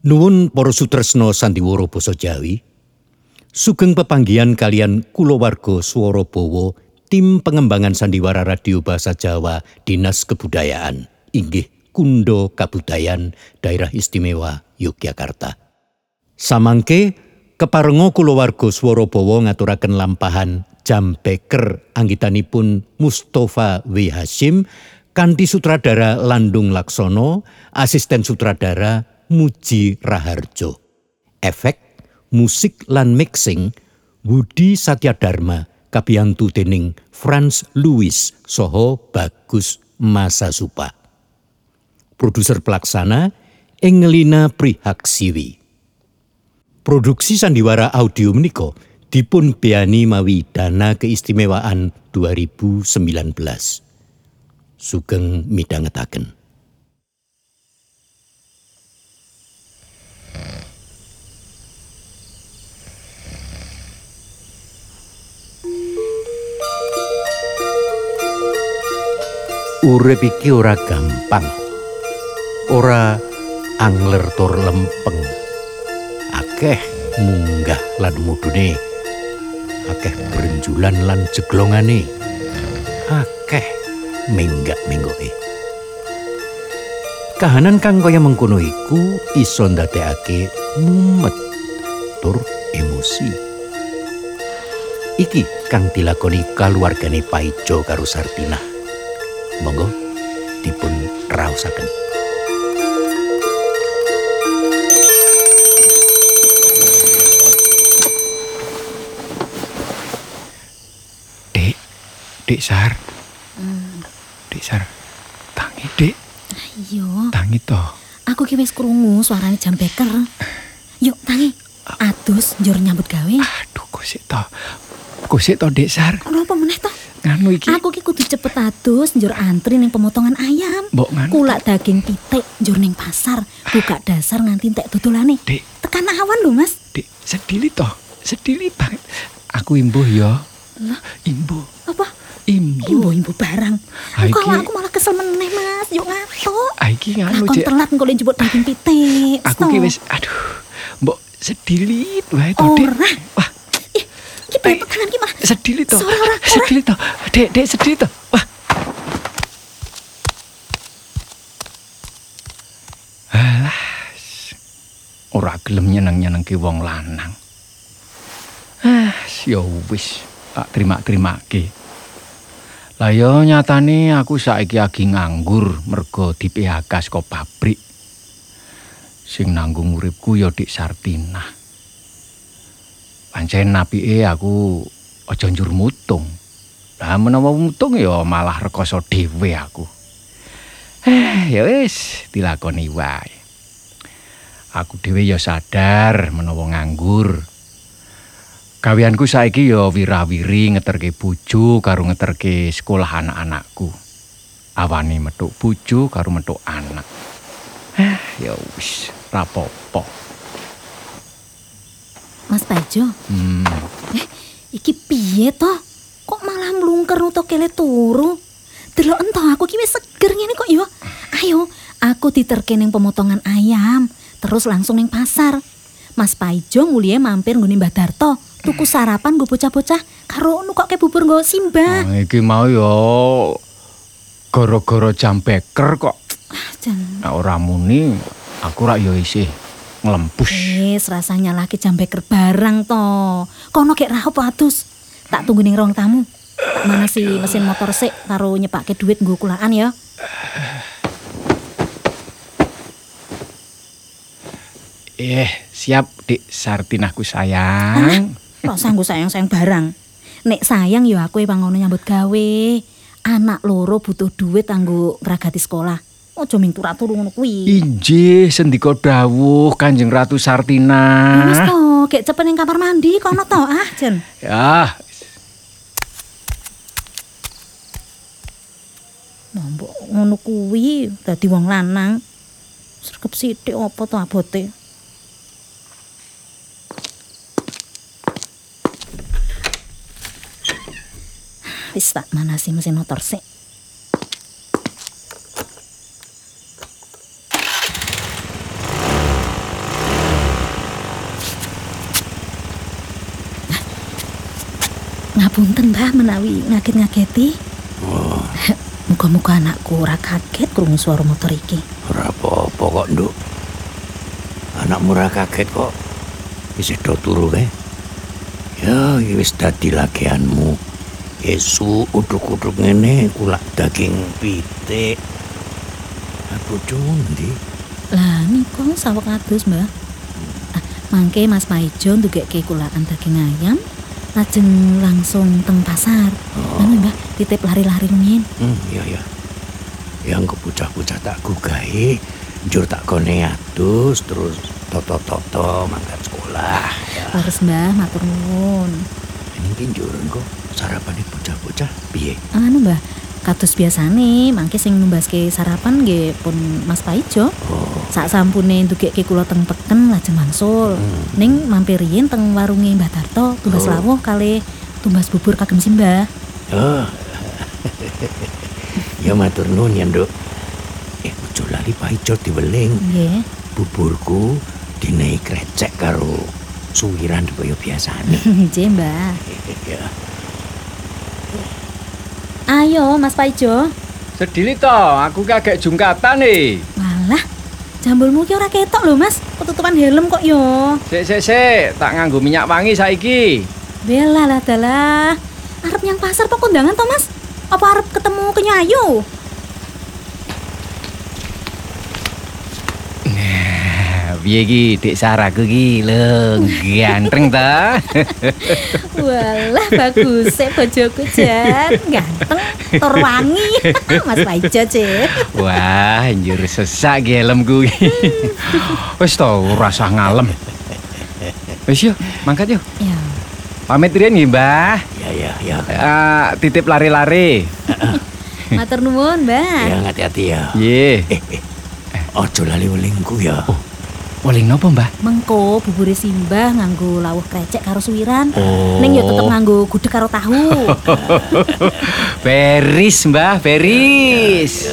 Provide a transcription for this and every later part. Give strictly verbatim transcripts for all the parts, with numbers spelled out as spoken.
Nuwun para sutresna sandiwara basa Jawi. Sugeng pepanggihan kalian kulawarga Swara Bawa, tim pengembangan sandiwara radio Basa Jawa Dinas Kebudayaan, inggih Kundo Kabudayan Daerah Istimewa Yogyakarta. Samangke keparenga kulawarga Swara Bawa ngaturaken lampahan Jambeker anggitanipun Mustafa W. Hasyim kanthi sutradara Landung Laksono, asisten sutradara Muji Raharjo. Efek, musik lan mixing Budi Satyadharma kabiyantu dening Franz Louis saha Bagus Masasupa. Produser pelaksana Engelina Prihaksiwi. Produksi sandiwara audio menika dipun beyani mawi dana keistimewaan dua ribu sembilan belas. Sugeng midhangetaken. Urip iki ora gampang, ora angler tur lempeng, akeh munggah lan mudune, akeh brenjulan lan jeglongane, akeh menggak-menggoke. Kahanan kang kaya mengkono iku iso ndadekake mumet tur emosi. Iki kang dilakoni kaluwargane Paijo karo Sartinah. Monggo dipun raosaken. Dek, Dek Sar. Hmm. Dek Sar, tangi Dek. Ayo. Tangi to. Aku ki wis krungu suarane Jambeker. Yuk tangi. Adus njur nyambut gawe. Aduh, kok sik to. Kok sik to Dek Sar. Ora apa meneh to? Nganu iki. Aku ki kudu cepet adus njur antri ning pemotongan ayam. Mbok nganu. Kulak daging pitik njur ning pasar, buka dasar nganti entek dodolane. Dek, tekan awan lho, Mas. Dek, sedili to. Sedili banget. Aku imbuh ya. Lah, imbuh. Apa? Imbuh. Imbuh-imbuh barang. Iki... Kok aku malah kesel meneh, Mas. Yuk ngatuk. Ah, iki nganu, Cek. Cek. Telat engko njupuk daging pitik. Aku ki wis aduh. Mbok sedilit wae to, Dek. Ora. Wah. Iki bepet tangan ki malah. Sedili to. Ora, ora, ora. Sedili to. Dek, Dek sedili to. Wah. Alah. Ora gelem nyeneng-nyenengke wong lanang. Ah, ya wis, tak terima-terimake. Lah ya nyatane aku saiki lagi nganggur mergo di P H K saka pabrik. Sing nanggung uripku ya Dik Sartinah. Pancen apike aku aja njur mutung. Lah menawa mutung ya malah rekoso dhewe aku. Eh, ya wis dilakoni wae. Aku dhewe ya sadar menawa nganggur. Gaweanku saiki ya wirawiri ngeterke bojo karo ngeterke sekolah anak-anakku. Awane metuk bojo karo metuk anak. Eh, ya wis, ra apa-apa. Mas Paijo. Hmm. Eh, iki piye to? Kok malah mlungker utawa kele turu? Delok ento aku ki wis seger ngene kok ya. Ayo, aku diterke ning pemotongan ayam, terus langsung ning pasar. Mas Paijo mulie mampir nggone Mbah Darto, tuku sarapan nggo bocah-bocah karo nukokke bubur nggo Simbah. Nah, iki mau ya gara-gara Jambeker kok. Ah, jan. Nah, ora muni aku rak ya isih nglempus. Wis rasanya lagi Jambeker barang to. Kono gek ra apa adus. Tak tunggu ning ruang tamu. Mana si mesin motor sik karo nyepake duit nggo kulaan ya. Eh, siap Dik Sartinahku sayang. Kok sanggo sayang-sayang barang. Nek sayang ya aku pangono nyambut gawe. Anak loro butuh duit kanggo ngragati sekolah. Aja ming turu-turu ngono kuwi. Injih, sendika dawuh Kanjeng Ratu Sartinah. Wis to, gek cepet ning kamar mandi kono to, ah, Jen. Ya. Mbok ngono kuwi dadi wong lanang. Sregep sithik apa to abote? Wis tak manasi mesin motor sik. Ngapunten Mbah menawi ngaget-ngageti. Oh, Muga-muga anakku ora kaget krungu swara motor iki. ora apa-apa kok, Nduk. Anakmu ora kaget kok. Wis do turu kae. Ya, iki wis dadi lagianmu. Esuk uduk-uduk ngene kulak daging pitik. Aku ndi? Lah niku saweg adus Mbah. Ah, mangke Mas Paijo ndugekke kulakan daging ayam. Lajeng langsung teng pasar. Oh. Anu Mbah, titip lari-lari rumiyin. Hmm, iya ya. Yang kebocah-bocah tak gugahi, njur tak kone adus terus toto-toto mangkat sekolah. Ya. Leres Mbah, matur nuwun. Ini ki njur engko sarapane bocah-bocah piye? Anu Mbah, kados biasane mangke sing numbaske sarapan nggih pun Mas Paijo. Oh, Sak sampune ndugekke kula teng peken lajeng mangsul. Hmm. Ning mampir riyin teng warunge Mbah Darto, tumbas Oh. lawuh kalih tumbas bubur kagem Simbah. oh. Ya matur nuwun ya, Nduk. Eh, ojo lali paijo diweling. Nggih. Buburku dinehi krecek karo suwiran kaya biasane. Nggih, Mbah. Ya. Ayo Mas Paijo. Sedili to, aku kagak jungkatan nih. Walah, jambulmu ki ora ketok lho Mas. Ketutupan helm kok yo. Sik sik sik, tak nganggo minyak wangi saiki. Bela lah dalah. Arep nyang pasar apa kondangan to Mas? Apa arep ketemu Kenyayu? Piye iki Dik Saraku ki lho, ganteng ta? Walah bagus sik bojoku jan. Ganteng, tur wangi. Mas Paijo cek. Wah, njur sesak ki helmku iki. Wis to, ora usah ngalem. Wis yo, mangkat yo. Ya. Pamit riyen nggih, Mbah. Ya ya ya. Ah, titip lari-lari. Matur nuwun, Mbah. Ya hati-hati ya. Nggih. Eh, eh. Ojo lali welingku ya. Weling napa, Mbah? Mengko bubure Simbah nganggo lawuh krecek karo suwiran. Oh. Ning yo tetep nganggo gudeg karo tahu. Beris, Mbah, beris.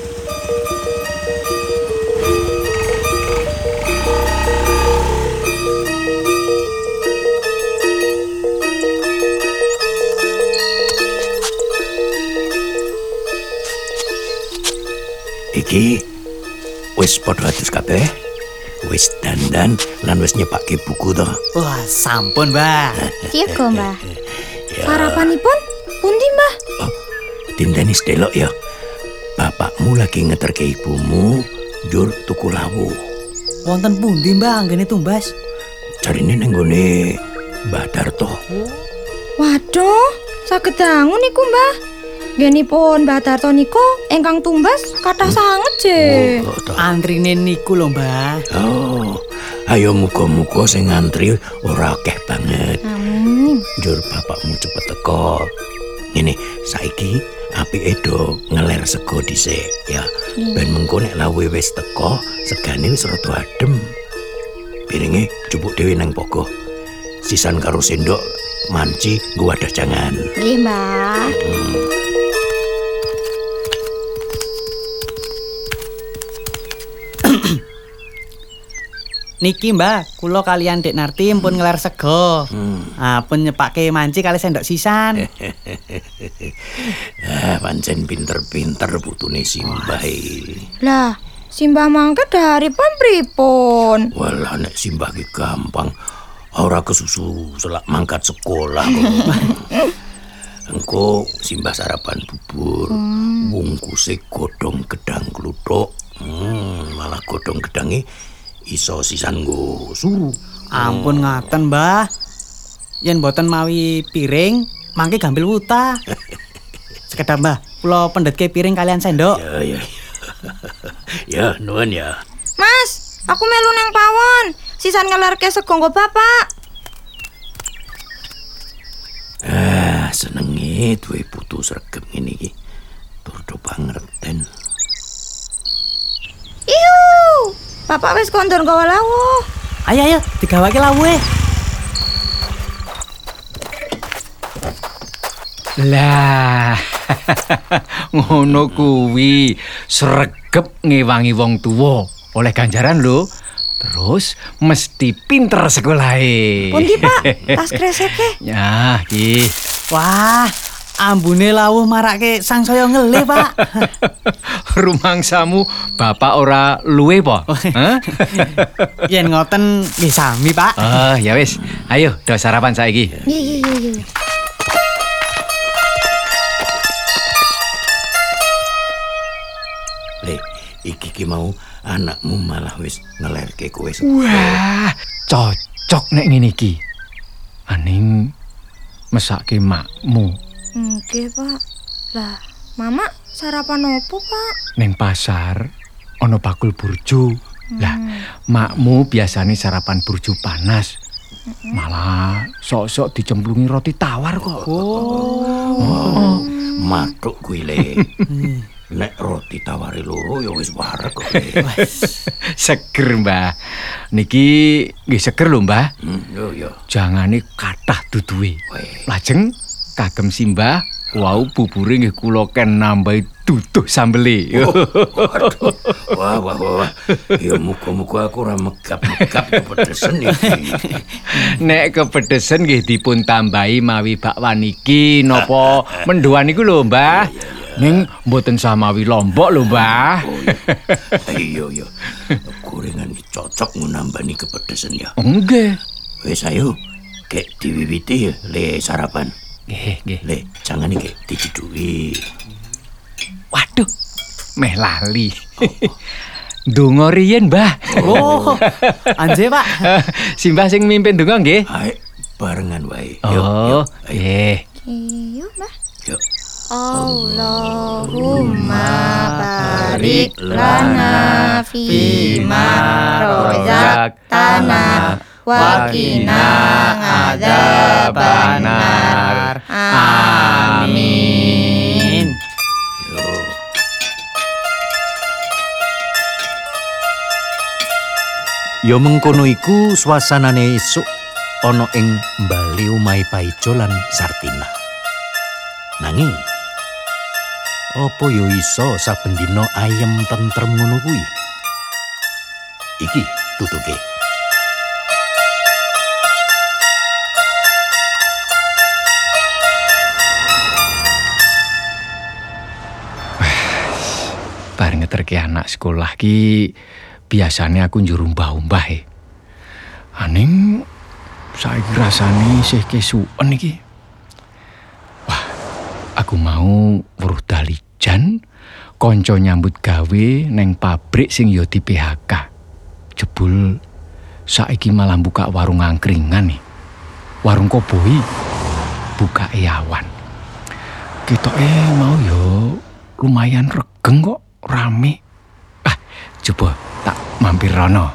Iki wis padha adus kabeh. Wis dandan lan wis nyepake buku to. Wah, sampun, Mbah. Siaga, Mbah. Ya. Sarapanipun pundi, Mbah? Oh, dindeni sedelok ya. Bapakmu lagi ngeterke ibumu njur tuku lawuh. Wonten pundi, Mbah, anggene tumbas? Jarine nang nggone Mbah Darto. Waduh, saged dangu niku, Mbah. Ngenipun Mbah Darto niku ingkang tumbas kathah sanget, Je. Oh, toh. Antrine niku lho, Mbah. Oh, ayo muga-muga sing ngantri ora akeh banget. Amin. Njur bapakmu cepet teko. Ngene, saiki apike do ngeler sego dhisik ya. Ben mengko nek lawuhe wis teko, segane wis rada adem. Piringe jupuk dhewe nang pogo. Sisan karo sendok manci nggo wadah jangan. Nggih, Mbah. Niki, Mbah, kula kalian Dek Narti pun ngeler sego. Hmm. Ah, pun nyepake manci kali sendok sisan. Ah, pancen pinter-pinter putune Simbah. Lah, Simbah mangke daripun pripun? Walah nek Simbah ki gampang. Ora kesusu selak mangkat sekolah kok. Engko Simbah sarapan bubur, bungkuse godhong gedang kluthuk. Hmm, malah godhong gedange iso sisan nggo suru. Ampun ngaten, Mbah. Yen boten mawi piring, mangke gampil wuta. Sekedap, Mbah, kula pendhetke piring kalian sendok. Ya ya. Ya, nuwun ya. Mas, aku melu nang pawon. Sisan ngelerke sego nggo Bapak. Ah, senenge duwe putu sregep ngene iki. Tur do pangerten. Iu, Bapak wis kondor gawa lawuh. Ayo ayo, digawake lawuhe. Lah, ngono kuwi sregep ngewangi wong tuwa oleh ganjaran lho. Terus mesti pinter sekolahe. Pundi, Pak? Tas kreseke. Ya, iki. Wah, ambune lawuh marake sangsaya ngelih, Pak. Rumangsamu bapak ora luwe po? Hah? Yen ngoten nggih sami, Pak. Oh, ya wis. Ayo, do sarapan saiki. Iya iya iya iya. Le, iki ki mau anakmu malah wis ngelerke kowe. Wah, cocok nek ngene iki. Aning mesake makmu Nggih, Pak. Lah, Mama sarapan opo, Pak? ning pasar ana bakul burjo. Lah, makmu biasane sarapan burjo panas. Malah sok-sok dicemplungi roti tawar kok. Oh, matuk kuwi le. Nek roti tawari loro ya wis wareg kok. Le. Seger, Mbah. Niki nggih seger lho, Mbah. Hmm, yo yo. Jangane kathah duduhe. Weh. Lajeng kagem simbah wau bubure nggih kula ken nambahi duduh sambele. Waduh. Wah, wah, wah. Ya muga-muga aku ora megap-megap kepedesen iki. Nek kepedesen nggih dipun tambahi mawi bakwan iki napa mendoan niku lho, Mbah. Ning mboten samawi lombok lho, Mbah. Oh, iya, iya. Gorengan iki cocok nambani kepedesen ya. Nggih. Wis ayo, kek diwiwiti ya, le sarapan. Nggih, nggih. Le, jangan iki diceduki. Waduh, meh lali. Donga riyen, Mbah. Oh, anje, Pak. Simbah sing mimpin donga nggih. Ayo, barengan wae. Oh, ayo. nggih. Iya, Mbah. Yuk. Allahumma barik lana fima rozaktana wa qina adzabannar. Amin. Ya mengkono iku suasanane esuk ana ing mbali omahe Paijo lan Sartina. Nanging apa ya iso saben dina ayem tentrem ngono kuwi? Iki tutuke. Bar ngeterke anak sekolah ki biasane aku njur umbah-umbah e. Aning saiki rasane isih kesuwen iki. Wah, aku mau weruh dalijan kanca nyambut gawe neng pabrik sing ya di P H K. Jebul saiki malah buka warung angkringan nih. Warung koboi buka awan. Ketoke mau yo lumayan regeng kok, rame. Ah, coba tak mampir rono.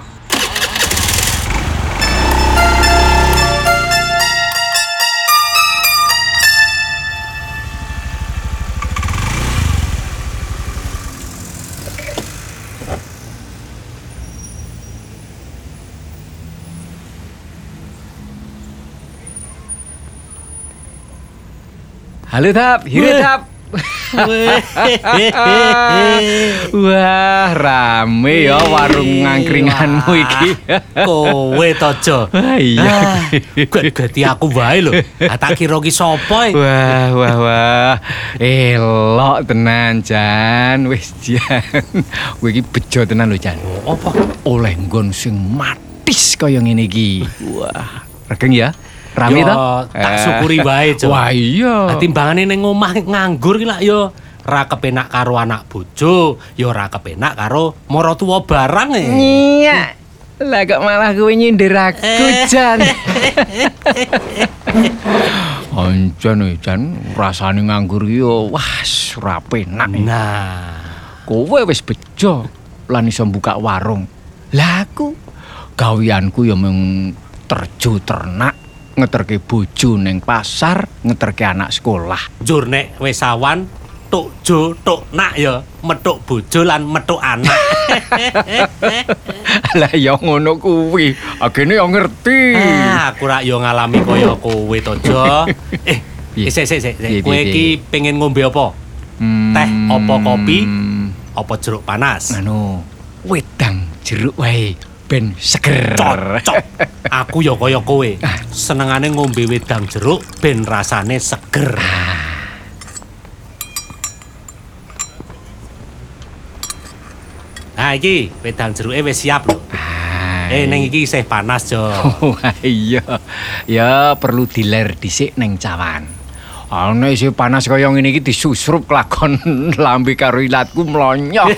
Halo Tap, hire Tap. Wah, rame ya warung ngangkringanmu iki. Kowe tojo. Wah, iya. Gati aku wae lho. Tak kira ki sapa e? Wah, wah, wah. Elok tenan, Jan. Wis, Jan. Kowe iki bejo tenan lho, Jan. Apa? Oleh nggon sing matis kaya ngene iki. Wah, regeng ya. Rame Yo, to? tak syukuri wae, Jo. Wah, iya. Timbangane ning omah nganggur ki lak yo ra kepenak karo anak bojo, yo ora kepenak karo maratuwa barang e. Iya. Lah kok malah kowe nyindir aku, Jan. Ancen e, Jan, rasane nganggur yo wah, ora penak. Nah, Kowe wis bejo lan iso buka warung. Lah aku gaweanku yo mung terjo ternak, ngeterke bojo ning pasar, ngeterke anak sekolah. njur nek wis awan tuk jo tuk nak ya metuk bojo lan metuk anak. Lah ya ngono kuwi, agene yo ngerti. Ah, aku rak yo ngalami kaya kowe to, Jo. Eh, Piye? sik sik sik, Piye, kowe piye, iki pengen ngombe apa? Hmm, Teh apa kopi? Apa jeruk panas? Anu, wedang jeruk wae. ben seger. Cocok. Aku ya kaya kowe. Senengane ngombe wedang jeruk ben rasane seger. Nah iki wedang jeruke wis siap lho. Eh ning iki isih panas, Jo. Wah iya. Ya perlu diler dhisik ning cawan. Ana isih panas kaya ngene iki disusrup kelakon lambe karo ilatku mlonyoh.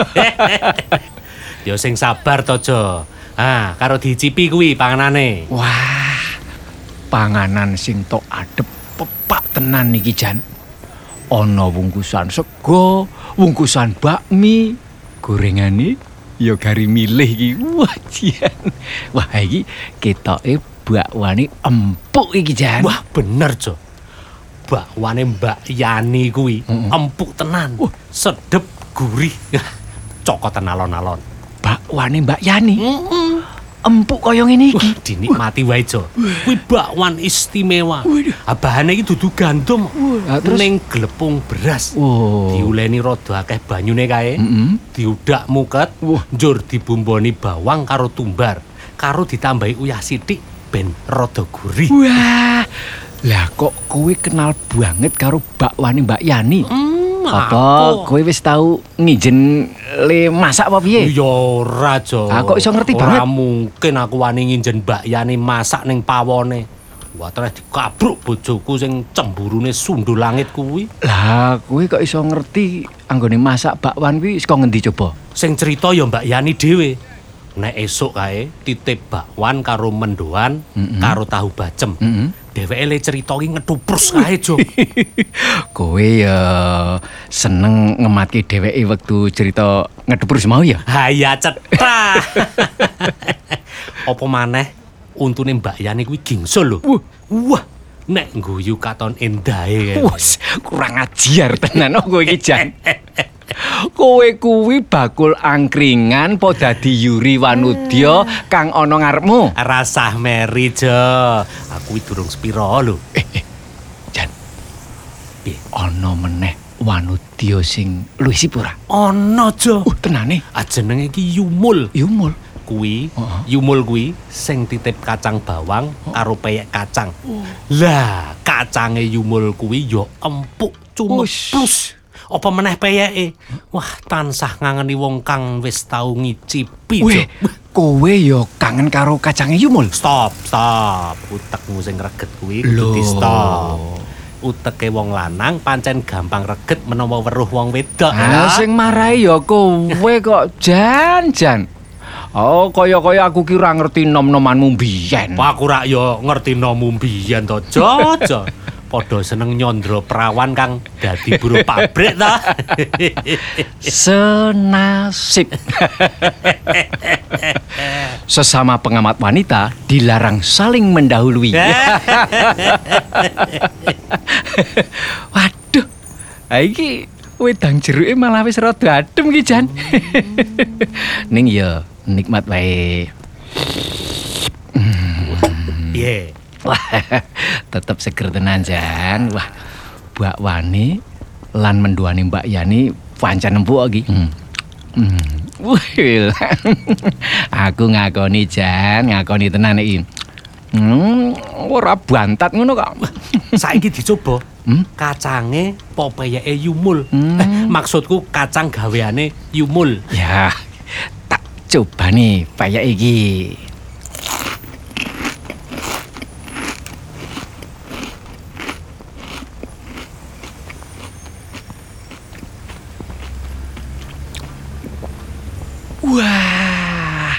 Ya sing sabar to, Jo. Ah, karo dicipi kuwi panganane. Wah. Panganan sing tok adep pepak tenan iki Jan. Ana wungkusan sego, wungkusan bakmi, gorengane ya gari milih iki. Wah, Jan. Wah, iki ketoke bakwane empuk iki, Jan. Wah, bener, Jo. Bakwane Mbak Yani kuwi empuk tenan. Wah. Sedep, gurih. Cokotan alon-alon. Bakwane Mbak Yani. Empuk kaya ngene iki. Wah, dinikmati wae, Jo. Kuwi bakwan istimewa. Ah, bahane iki dudu gandum. Wah, terus? Ning glepung beras. Oh. Diuleni rada akeh banyune kae. Mm-mm. Diudak muket. Wah. Njur dibumboni bawang karo tumbar. Karo ditambahi uyah sithik ben rada gurih. Wah. Lah kok kowe kenal banget karo bakwane Mbak Yani? Hmm, Apa aku- kowe wis tau ngijen le masak apa piye? Ya ora, Jo. Ah, kok iso ngerti Ora banget? mungkin aku wani nginjen Mbak Yani masak ning pawone. Wah, terus dikabruk bojoku sing cemburune sundul langit kuwi. Lah kowe kok iso ngerti anggone masak bakwan kuwi saka ngendi coba? Sing cerita ya Mbak Yani dhewe. Nek esuk kae titip bakwan karo mendoan Mm-mm. karo tahu bacem. Mm-mm. Dheweke le cerita ki ngetuprus kae, Jo. Kowe ya seneng ngematke dheweke wektu cerita ngedepur mau ya? Haya cetha. Apa maneh untune Mbak Yani kuwi gingsul lho. Wah. Wah, nek ngguyu katon endahe. Wes kurang ajar tenan kok kowe iki Jan. Kowe kuwi bakul angkringan po dadi Yuri Wanudya kang ana ngarepmu. Rasah meri, Jo. Aku iki durung sepira lho. Eh, eh, Jan. Piye? Ana meneh Wanudya sing luwih sipura. Ana, Jo. Uh, tenane. Ah, jenenge iki Yumul. Yumul. Kuwi, Heeh. Yumul kuwi sing titip kacang bawang karo peyek kacang. Lah, kacange Yumul kuwi ya empuk Ush. cumeplus. Apa meneh peyeke? Wah, tansah ngangeni wong kang wis tau ngicipi, Jo. Weh, kowe ya kangen karo kacange Yumul. Stop, stop. Utekmu sing reget kuwi Lho. kudu di stop. Uteke wong lanang pancen gampang reget menawa weruh wong wedok. Ah, sing marahi ya kowe kok Jan-jan. Oh, kaya-kaya aku ki ora ngerti nom-nomanmu biyen. Wah, aku rak yo ngerti nomu mbiyen to, Jo. Jo. Padha seneng nyondro perawan kang dadi buruh pabrik ta. Senasib. Sesama pengamat wanita dilarang saling mendahului. Waduh. Ha iki wedang jeruke malah wis rada adem iki Jan. Ning ya nikmat wae. Piye? Wah, tetep seger tenan Jan. Wah, bakwane lan menduane Mbak Yani pancen empuk iki. Hmm. Hmm. Wih, aku ngakoni Jan, ngakoni tenan iki. Hmm, ora bantat ngono kok. Saiki dicoba. Hmm? Kacange popeyeke Yumul. Hmm. Eh, maksudku kacang gaweane Yumul. Ya, tak coba nih payah iki. Wah,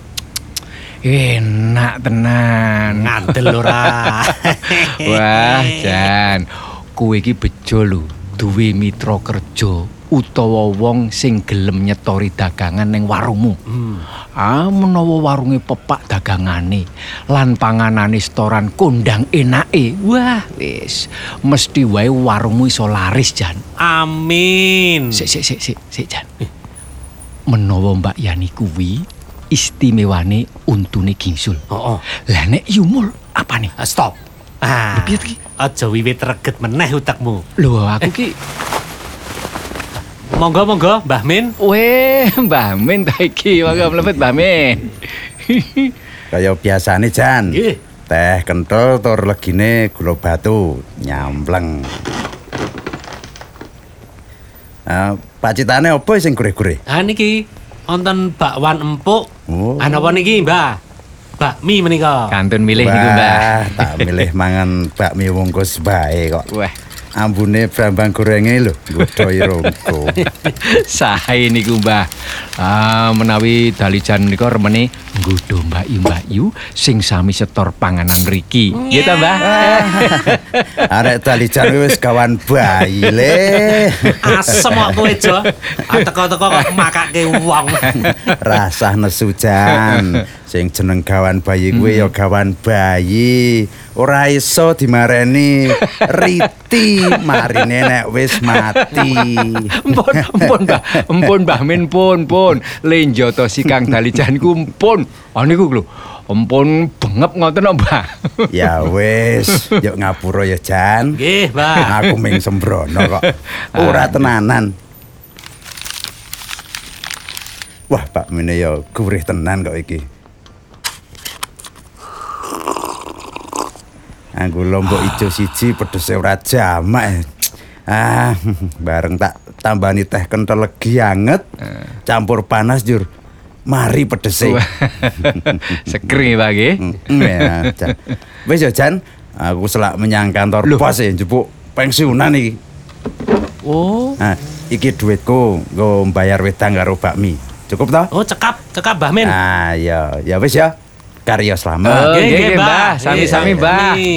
enak tenan. Ngandel ora. Wah, Jan, kowe iki bejo lho, duwe mitra kerja utawa wong sing gelem nyetori dagangan ning warungmu. Hmm. Ah, menawa warunge pepak dagangane lan panganane setoran kondang enake. Wah, wis mesti wae warungmu iso laris, Jan. Amin. Sik sik sik sik, sik Jan. Menawa Mbak Yani kuwi istimewane untune gingsul. Heeh. Lah nek Yumul apane? Ah, stop. Ah. Piye iki? Aja wiwit reget meneh utekmu. Lho, aku ki Monggo monggo Mbah Min. Weh, Mbah Min ta iki, monggo mlebet Mbah Min. Kaya biasane Jan. Nggih. Teh kenthel tur legine gula batu nyampleng. Ah, pacitane apa sing gurih-gurih? Ah niki wonten bakwan empuk. Oh. Ana apa niki, Mbah? Bakmi menika. Kantun milih niku, Mbah. Wah, tak milih mangan bakmi wungkus bae kok. Wah, Ambune brambang gorenge lho, nggodhoi rongko. sae niku, Mbah. Ah, menawi dalijan menika remene nggodho mbak-yu sing sami setor panganan mriki. Nggih ta, Mbah? Arek dalijan wis kawan bayi le. Asem kok kowe, Jo. Ah teko-teko kok makake wong. Rasah nesu Jan. Sing jeneng gawan bayi kuwi ya gawan bayi. Ora iso dimareni riti marine nek wis mati. Empun, empun, Mbah. Empun, Mbah Min, pun, pun. Lenjata si Kang Dalijanku, empun. Ah niku lho. Empun bengep ngoten kok, Mbah. Ya wis, yuk ngapura ya Jan. Nggih, Mbah. Aku ming sembrono kok. Ora tenanan. Wah, Pak Mine ya gurih tenan kok iki. Anggo lombok ijo siji pedese ora jamak. Ah, bareng tak tambani teh kenthel legi anget. Campur panas jur. Mari pedese. Seger nggih, Pak nggih. Mm, ya, Jan. Wis ya Jan, aku selak menyang kantor Loh. pos ya njupuk pensiunan iki. Oh. Nah, iki duitku nggo mbayar wedang karo bakmi. Cukup toh? Oh, cekap, cekap Mbah Min. Ah, ya, ya wis ya. Karya Oh, selamat. nggih, nggih, Mbah. Sami-sami, Nggih, Mbah. sami.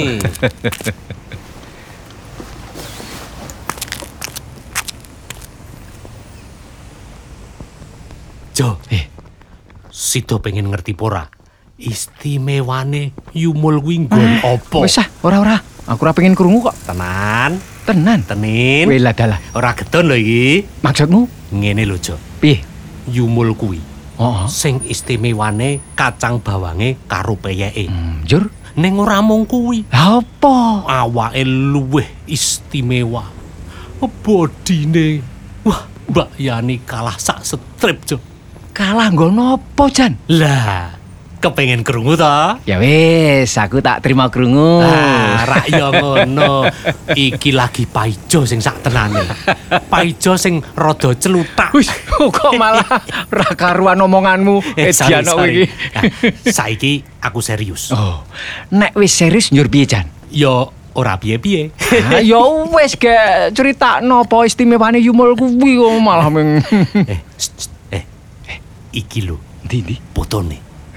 Jo, Eh, Sido pengen ngerti pora. Istimewane Yumul kuwi nggon apa? Wis ah, ora-ora. Aku ora pengen krungu kok. Tenan, Tenan. tenin. Weh lah dalah. Ora gedon lho iki. Maksudmu? Ngene lho, Jo. Piye? Yumul kuwi Oh, sing istimewane kacang bawange karo peyeke. hmm, jur. Ning ora mung kuwi, Lah apa? awake luwih istimewa. Bodine, wah, Mbak Yani kalah sak strip, Jo. Kalah nggono apa, Jan? Lah, kepengen krungu ta? Ya wis, aku tak terima krungu. Ah, rak ya ngono. Iki lagi paijo sing sak tenane. Paijo sing rada celutak. Wis, kok malah ra karuan omonganmu. Eh, sorry, Edian kok sorry. iki. Nah, saiki aku serius. Oh, nek wis serius njur piye, Jan? Yo ora piye-piye. Ah, ya wis ge critakno apa istimewane Yumul kuwi kok malah ming. eh, st, st, eh, eh, iki lho Ndi ndi? fotone.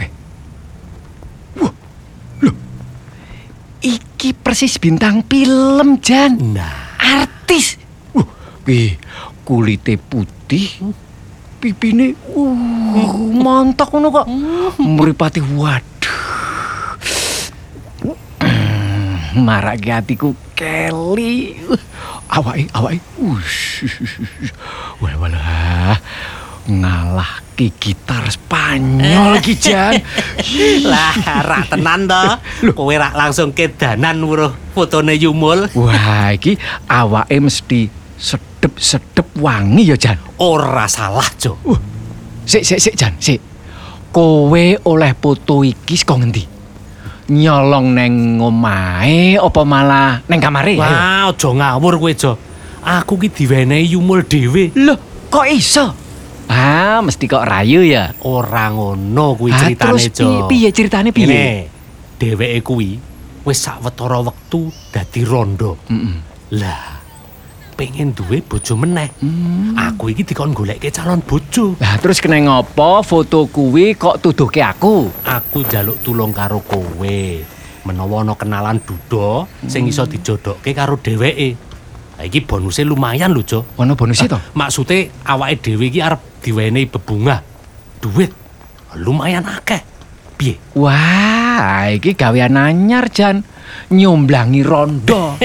Iki persis bintang film, Jan. Nah, Artis. Wah, kuwi kulite putih. Pipine uh montok ngono kok. Mripate waduh. Marake atiku keli. Awake awake. Ush. Wala wala. Ngalah ki gitar Spanyol ki Jan. lah rak tenan to. Kowe rak langsung kedanan weruh fotone Yumul. Wah, iki awake mesti sedep-sedep wangi ya, Jan. Ora salah, Jo. Uh, sik sik sik Jan, sik. Kowe oleh foto iki saka ngendi? Nyolong neng omahe apa malah neng kamare? Ayo. Wah, aja ngawur kowe, Jo. Aku ki diwenehi Yumul dhewe. Loh, kok iso? Ah, mesti kok rayu ya. Ora ngono kuwi Ah, ceritane, terus Jo. pi- piye ceritane piye? Ngene, dheweke kuwi wis sawetara wektu dadi rondo. Mm-mm. Lah, pengen duwe bojo meneh. Hmm. Aku iki dikon goleke calon bojo. Lah terus kena ngopo foto kuwi kok tuduhke aku? Aku njaluk tulung karo kowe. Menawa ana kenalan duda sing iso dijodokke karo dheweke. Lah iki bonuse lumayan lho, Jo. Ono bonusnya to? Maksude awake dhewe iki arep diwenehi bebungah. Duit lumayan akeh. Piye? Wah, iki gawean anyar Jan. Nyomblangi rondo.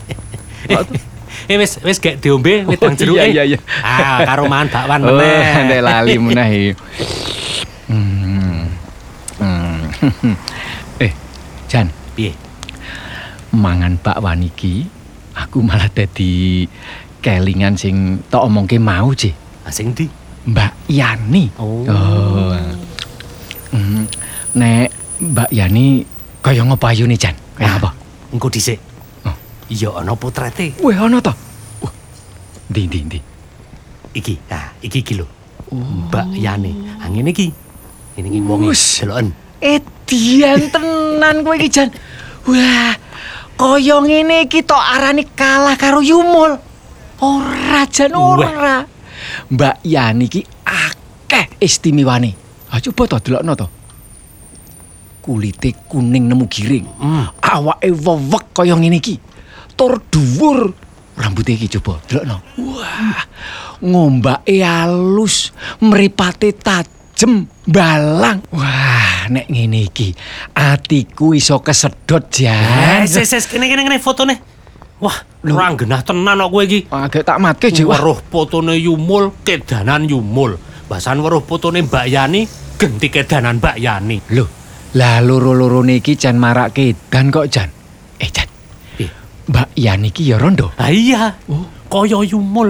Eh wis wis gek diombe wedang Oh, jeruk. iya, iya, iya. Ah, karo mangan bakwan Oh, meneh. ndek lali meneh iki. Hmm. Hmm. Eh, Jan, Piye? mangan bakwan iki aku malah dadi kelingan sing tak omongke mau, Ji. Ah, sing ndi? Mbak Yani. Oh. Hmm, nek Mbak Yani kaya ngopo ayune, Jan? Kaya apa? Engko dhisik. Oh. Iya ana potrete. Weh, ana ta? Wah. Ndi ndi ndi. Iki, nah, iki iki lho. Mbak Yani. Ha ngene iki. Ini iki wonge Wus. deloken. Edian tenan kowe iki, Jan. Wah, kaya ngene iki tok arani kalah karo Yumul. Ora, Jan, ora. Mbak Yani iki akeh istimewane. Ha coba to delokno to. Kulite kuning nemu giring. Hmm. Awake wewek kaya ngene iki. Tur dhuwur. Rambute iki coba delokno. Wah, ngombake alus, mripate tajem, balang. Wah, nek ngene iki atiku iso kesedot, Jan. Eh, ses ses kene kene kene fotone. Wah, ora genah tenan kok kowe iki. Agak tak matke, Ji. Wah, Weruh fotone Yumul, kedanan Yumul. Basan weruh fotone Mbak Yani, genti kedanan Mbak Yani. lho, lah loro-lorone iki jan marak kedan kok, Jan. Eh, Jan. Piye? Mbak Yani iki ya rondo. Ah iya. Oh. Kaya Yumul.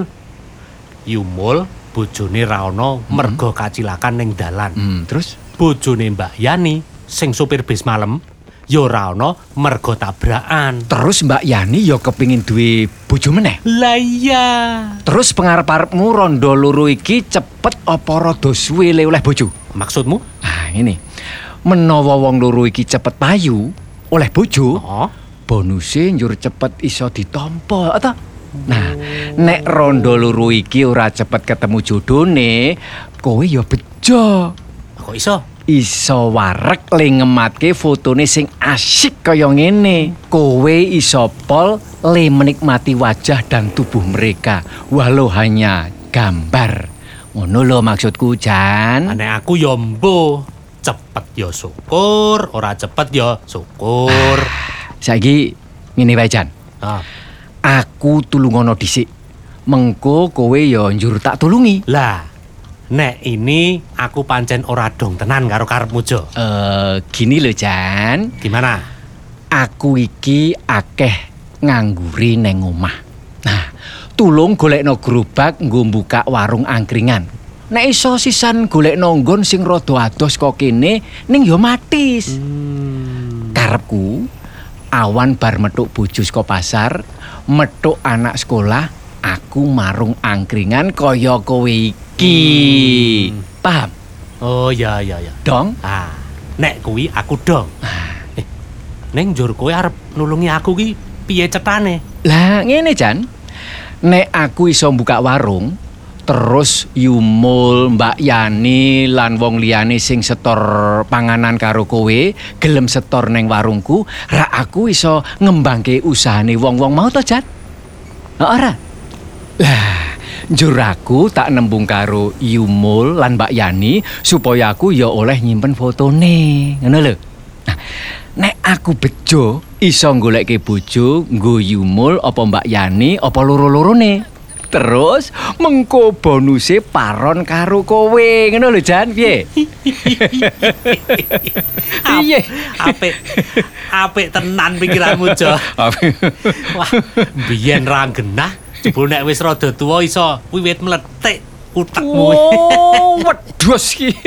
Yumul bojone ra ana merga kacilakan ning dalan. Hmm, terus Bojone Mbak Yani sing sopir bis malam ya ora ana merga tabrakan. terus Mbak Yani ya kepingin duwe bojo meneh. Lah iya. Terus pengarep-arepmu rondo loro iki cepet apa rada suwe le oleh bojo? Maksudmu? Ah, ini. Menawa wong loro iki cepet payu oleh bojo, Oh. bonuse njur cepet iso ditampa, ta? Nah, nek rondo loro iki ora cepet ketemu jodone, kowe ya bejo. Kok iso? Iso warek le ngematke fotone sing asyik kaya ngene. Kowe iso pol le menikmati wajah dan tubuh mereka walau hanya gambar. Ngono lho maksudku, Jan. Nek aku ya mbuh, cepet ya syukur, ora cepet ya syukur. Saiki ngene wae, Jan. Ah. Aku tulungono dhisik. Mengko kowe ya njur tak tulungi. Lah, nek ini aku pancen ora dong tenan karo karepmu, Jo. Eh, gini lho, Jan. Gimana? Aku iki akeh ngangguri neng omah. Nah, tulung golekno gerobak nggo buka warung angkringan. Nek iso sisan golekno nggon sing rada ados kok kene ning ya matis. Karepku awan bar metuk bojo saka pasar, metuk anak sekolah, aku marung angkringan kaya kowe iki. Paham? Oh ya ya ya. Dong? Ah, nek kuwi aku dong. Eh, ning njur kowe arep nulungi aku ki piye cetane? Lah ngene, Jan. Nek aku iso buka warung, terus Yumul, Mbak Yani lan wong liyane sing setor panganan karo kowe gelem setor neng warungku, ra aku iso ngembangke usahane wong-wong mau to, Jan? Ha ora? Lah, njur aku tak nembung karo Yumul lan Mbak Yani supaya aku ya oleh nyimpen fotone. Ngono lho. Nah, nek aku bejo iso goleke bojo nggo Yumul apa Mbak Yani apa loro-lorone. Terus mengko bonuse paron karo kowe. Ngono lho, Jan, piye? Piye? Apik. Apik tenan pikiranmu, Jo. Wah, biyen ra genah, jebul nek wis rada tuwa iso wiwit mletik utekmu. Oh, wedhus iki.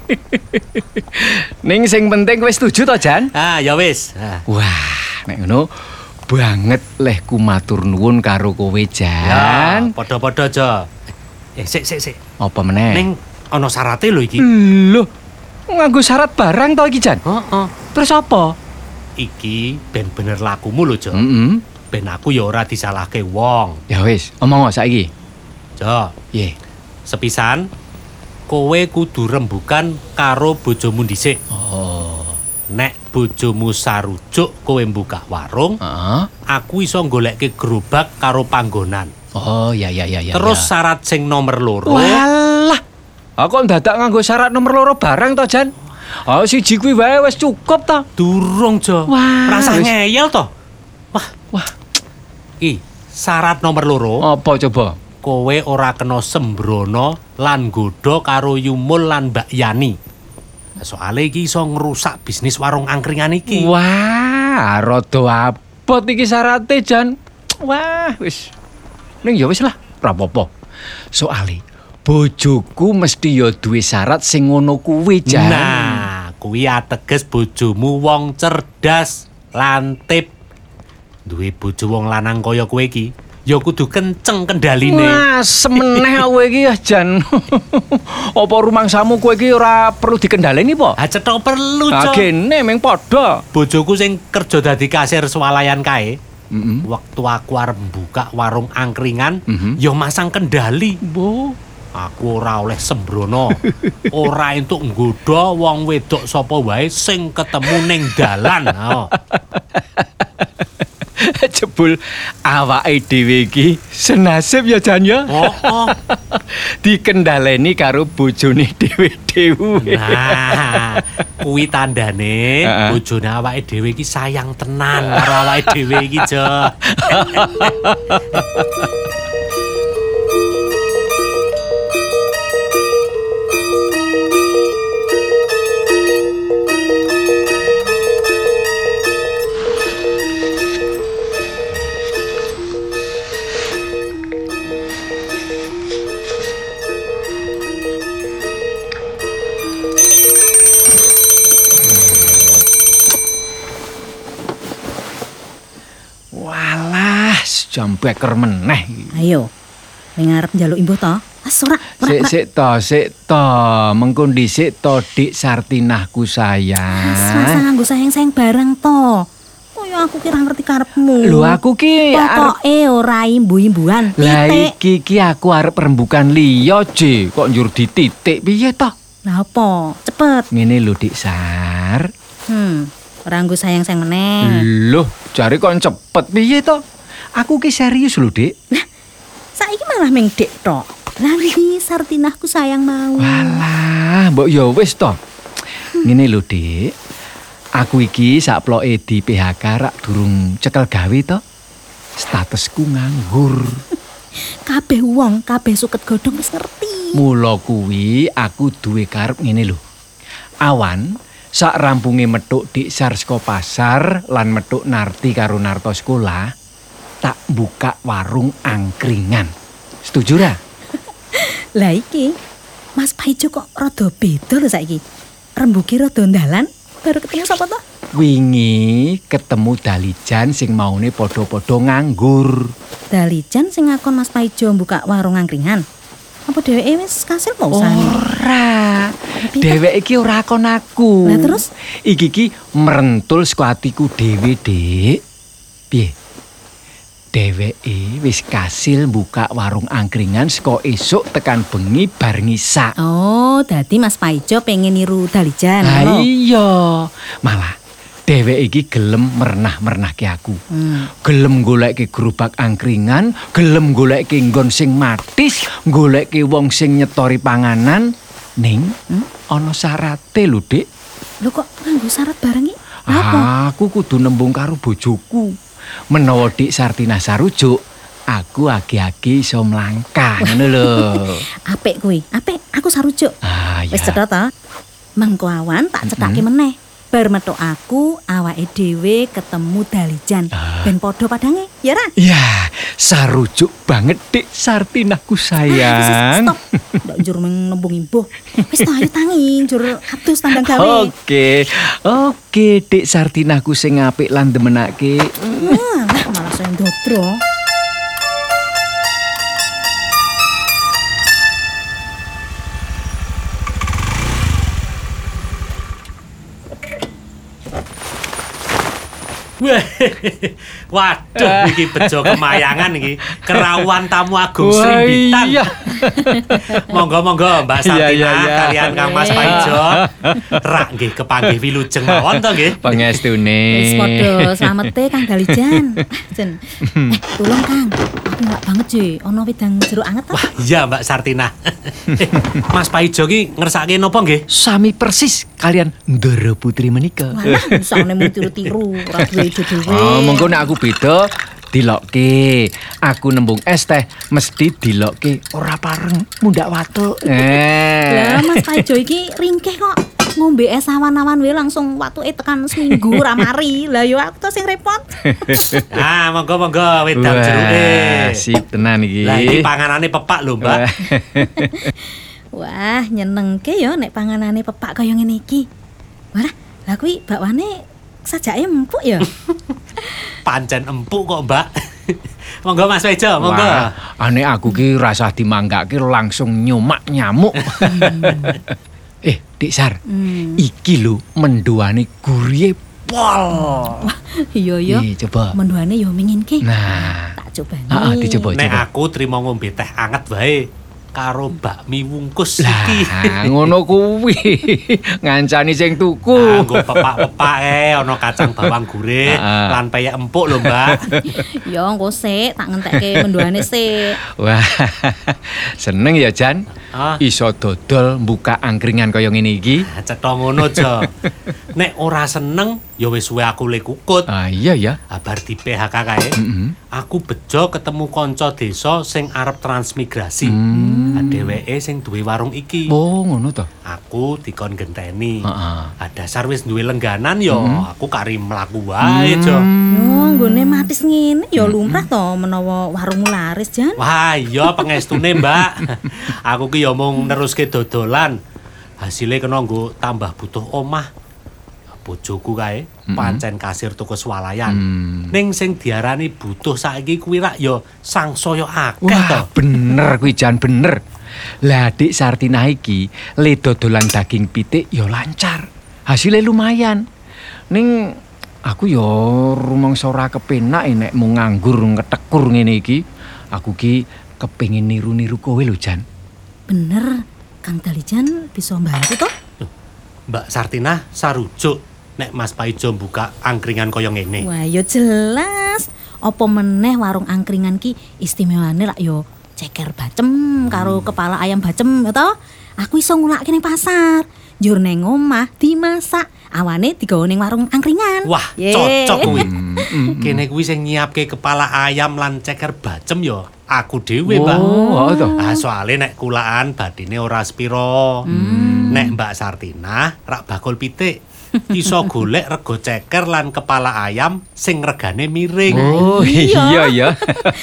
Ning sing penting kowe setuju to, Jan? Ah, ya wis. Ah. Wah, nek ngono banget leh ku matur nuwun karo kowe, Ya, Jan. padha-padha, Jo. Eh, sik sik sik. Apa meneh? Ning ana syarate lho iki. Lho, nganggo syarat barang to iki, Jan? Heeh. Terus apa? Iki ben bener lakumu lho, Jo. Heeh. Ben aku ya ora disalahke wong. Ya wis, omong saiki. Jo, Piye? sepisan kowe kudu rembugan karo bojomu dhisik. Oh. Nek bojomu sarujuk kowe buka warung, Heeh. aku iso goleke gerobak karo panggonan. Oh, ya ya ya ya. Terus ya. syarat sing nomor loro. Walah. Aku ndadak nganggo syarat nomor loro barang to, Jan. Oh, siji kuwi wae wis cukup to. Durung, Jo. Wah, Rasa wis. ngeyel to. Wah, Wah, iki syarat nomor loro. apa coba? Kowe ora kena sembrono lan nggodha karo Yumul lan Mbak Yani. Soale iki iso ngrusak bisnis warung angkringan iki. Wah, rada abot iki syarate, Jan. Wah, wis. Ning ya wis lah. ora apa-apa. Soale bojoku mesti ya duwe syarat sing ngono kuwi, Jan. Nah, kuwi ateges bojomu wong cerdas, lantip. Duwe bojo wong lanang kaya kowe iki, ya kudu kenceng kendaline. Wah, semeneh kowe iki ya, Jan. Apa rumangsamu kowe iki ora perlu dikendhaleni po? Ha cetha perlu, Ah, Cok. gene ming padha. Bojoku sing kerja dadi kasir swalayan kae. Heeh. Waktu aku arep buka warung angkringan, Mhm. ya masang kendali. Bo. Aku ora oleh sembrono. Ora entuk nggodha wong wedok sapa wae sing ketemu ning dalan. Oh. Jebul awake dhewe iki senasib ya, Jan ya. Oh, oh. Dikendhaleni karo bojone dhewe-dhewe. Nah, kuwi tandane Heeh. bojone awake dhewe iki sayang tenan karo awake dhewe iki, Jo. Walah, jam beker meneh iki. Ayo, ning arep njaluk imbuh to? Wes ora, ora, Sik ora. sik to, sik to. Mengko dhisik to, Dik Sartinahku sayang. Selasa nganggo sayang-sayang bareng to. Kaya aku kira ngerti karepmu. Lho aku ki arep Pokoke ora imbu-imbuhan. Lah Titik. iki ki aku arep rembukan liya, Je. Kok njur dititik piye to? Lah apa? Cepet. Ngene lho, Dik Sar. Hmm, ora nganggo sayang-sayang meneh. Loh, jare kok cepet piye to? Aku ki serius lho, Dik. Saiki malah ming dek tok. Lah iki Sartinahku sayang mau. Walah, mbok ya wis to. Ngene lho, Dik. Aku iki sakploke di P H K rak durung cekel gawe to. Statusku nganggur. Kabeh wong, kabeh suket godhong wis ngerti. Mula kuwi aku duwe karep ngene lho. Awan sak rampunge metuk Dik Sar saka pasar lan metuk Narti karo Narto sekolah, tak buka warung angkringan. Setuju ra? Lah iki Mas Paijo kok rada beda lho saiki. Rembuge rada ndalan baru ketemu sapa to? Wingi ketemu Dalijan sing maune padha-padha nganggur. Dalijan sing ngakon Mas Paijo buka warung angkringan. Apa dheweke wis kasil mau usahane? Ora. Tapi Dheweke iki ora kon aku. Lah terus? Iki ki merentul saka atiku dhewe, Dik. Piye? Dheweke wis kasil buka warung angkringan saka esuk tekan bengi bar ngisak. Oh, dadi Mas Paijo pengen niru Dalijan. Lah ngono. iya. Malah dheweke iki gelem mernah-mernahke aku. Hmm. Gelem goleke gerobak angkringan, gelem goleke nggon sing matis, goleke wong sing nyetori panganan ning Hmm? ana syarate lho, Dik. Lho kok nganggo syarat bareng iki? Apa? Aku kudu nembung karo bojoku. Menawa Dik Sartinah sarujuk, aku agi-agi iso mlangkah ngono lho. Apik kuwi, apik. Aku sarujuk. Ah Wis ya. cetha ta? Mengko awan tak cethake meneh. Bar metu aku awake dhewe ketemu Dalijan. Ben padha padange, ya ra? Ya, sarujuk banget Dik Sartinahku sayang. Stop. Ndak njur meng nembung imbuh. Wis ta ayo tangi njur atus tandang gawe. Oke, oke Dik Sartinahku sing apik lan demenake. Wah, malah saya ndodro. Waduh, iki bejo kemayangan iki. Kerawan tamu agung Wah, Srimbitan. iya. Monggo-monggo Mbak Iya, Sartina iya, iya. kalian Kang Mas Paijo. Rak nggih kepanggih wilujeng mawon to nggih. Pangestune. Wis padha slamete Kang Dalijan. Jen. Eh, tolong Kang. Aku enggak banget sih ono wedang jeruk anget ta? Wah, iya Mbak Sartina. Eh, Mas Paijo ki ngersake napa nggih? Sami persis kalian Ndara Putri menika. Walah, isane mung tiru-tiru, ora duwe ide dhewe. Oh, mengko nek aku beda dilokke. Aku nembung es teh mesti dilokke ora pareng mundak watuk. Eh. Lah Mas Paijo iki ringkeh kok. ngombe es awan-awan wae langsung watuke tekan seminggu ra mari. Lah yo aku to sing repot. Ah, monggo-monggo wedang Wah, jeruke. sip tenan iki. Lah iki panganane pepak lho, Mbak. Wah. Wah, nyenengke yo nek panganane pepak kaya ngene iki. Wah, lah kuwi bakwane sajake empuk ya. Pancen empuk kok, Mbak. Monggo Mas Wejo, monggo. Wah, ane aku ki rasah dimanggake langsung nyomak nyamuk. Eh, Dik Sar, Hmm. iki lho mendoane gurihe pol. Iya ya. Nih, coba. Mendoane yo menginke. Nah, Tak coba ah, ah, nih. dicoba Nek coba. aku trimo ngombe teh anget wae karo bakmi wungkus Lah, iki. ngono kuwi. Ngancani sing tuku. Anggo pepak-pepak e ana kacang bawang gurih Ah, ah. lan peyek empuk lho, Mbak. Yo engko sik tak ngentekke mendoane sik. Wah, seneng ya Jan. Ah. Iso dodol buka angkringan kaya ngene iki. Cetha ngono, Jo. Nek ora seneng ya wis suwe aku le kukut. Ah iya ya. Abar di P H K kae. Mm-mm. Aku bejo ketemu kanca desa sing arep transmigrasi. Hmm. Dheweke sing duwe warung iki. Oh, ngono to. Aku dikon genteni. Heeh. Adasar wis duwe lengganan yo, Hmm. aku kari mlaku wae, Jo. Yo nggone matis ngene yo lumrah to menawa warungmu laris, Jan. Wah, iya pengestune, Mbak. Aku ki yo mung neruske dodolan. Hasile kena nggo tambah butuh omah. Bojoku kae pancen kasir toko swalayan. Hmm. Ning sing diarani butuh saiki kuwi rak yo sangsaya akeh to. Wah, bener kuwi Jan, bener. Lah Dik Sartina iki le dodolan daging pitik ya lancar. Hasilnya lumayan. Ning aku ya rumangsa ora kepenak nek mung nganggur ngetekur ngene iki. Aku ki kepengin niru-niru kowe lho Jan. Bener, Kang Dalijan bisa bantu to? Mbak Sartina sarujuk nek Mas Paijo buka angkringan kaya ngene. Wah, yo jelas. Apa meneh warung angkringan ki istimewane lak yo ceker bacem karo kepala ayam bacem ya toh. Aku iso ngulakke ning pasar. Njur neng omah dimasak, awane digawa ning warung angkringan. Wah, Ye. cocok kuwi. Hmm, Kene kuwi sing nyiapke kepala ayam lan ceker bacem yo aku dhewe, Mbak. Oh, oh toh. Ah, soale nek kulaan badine ora spiro. Nek Mbak Sartina rak bakul pitik. Iso golek rego ceker lan kepala ayam sing regane miring. Oh, iya ya.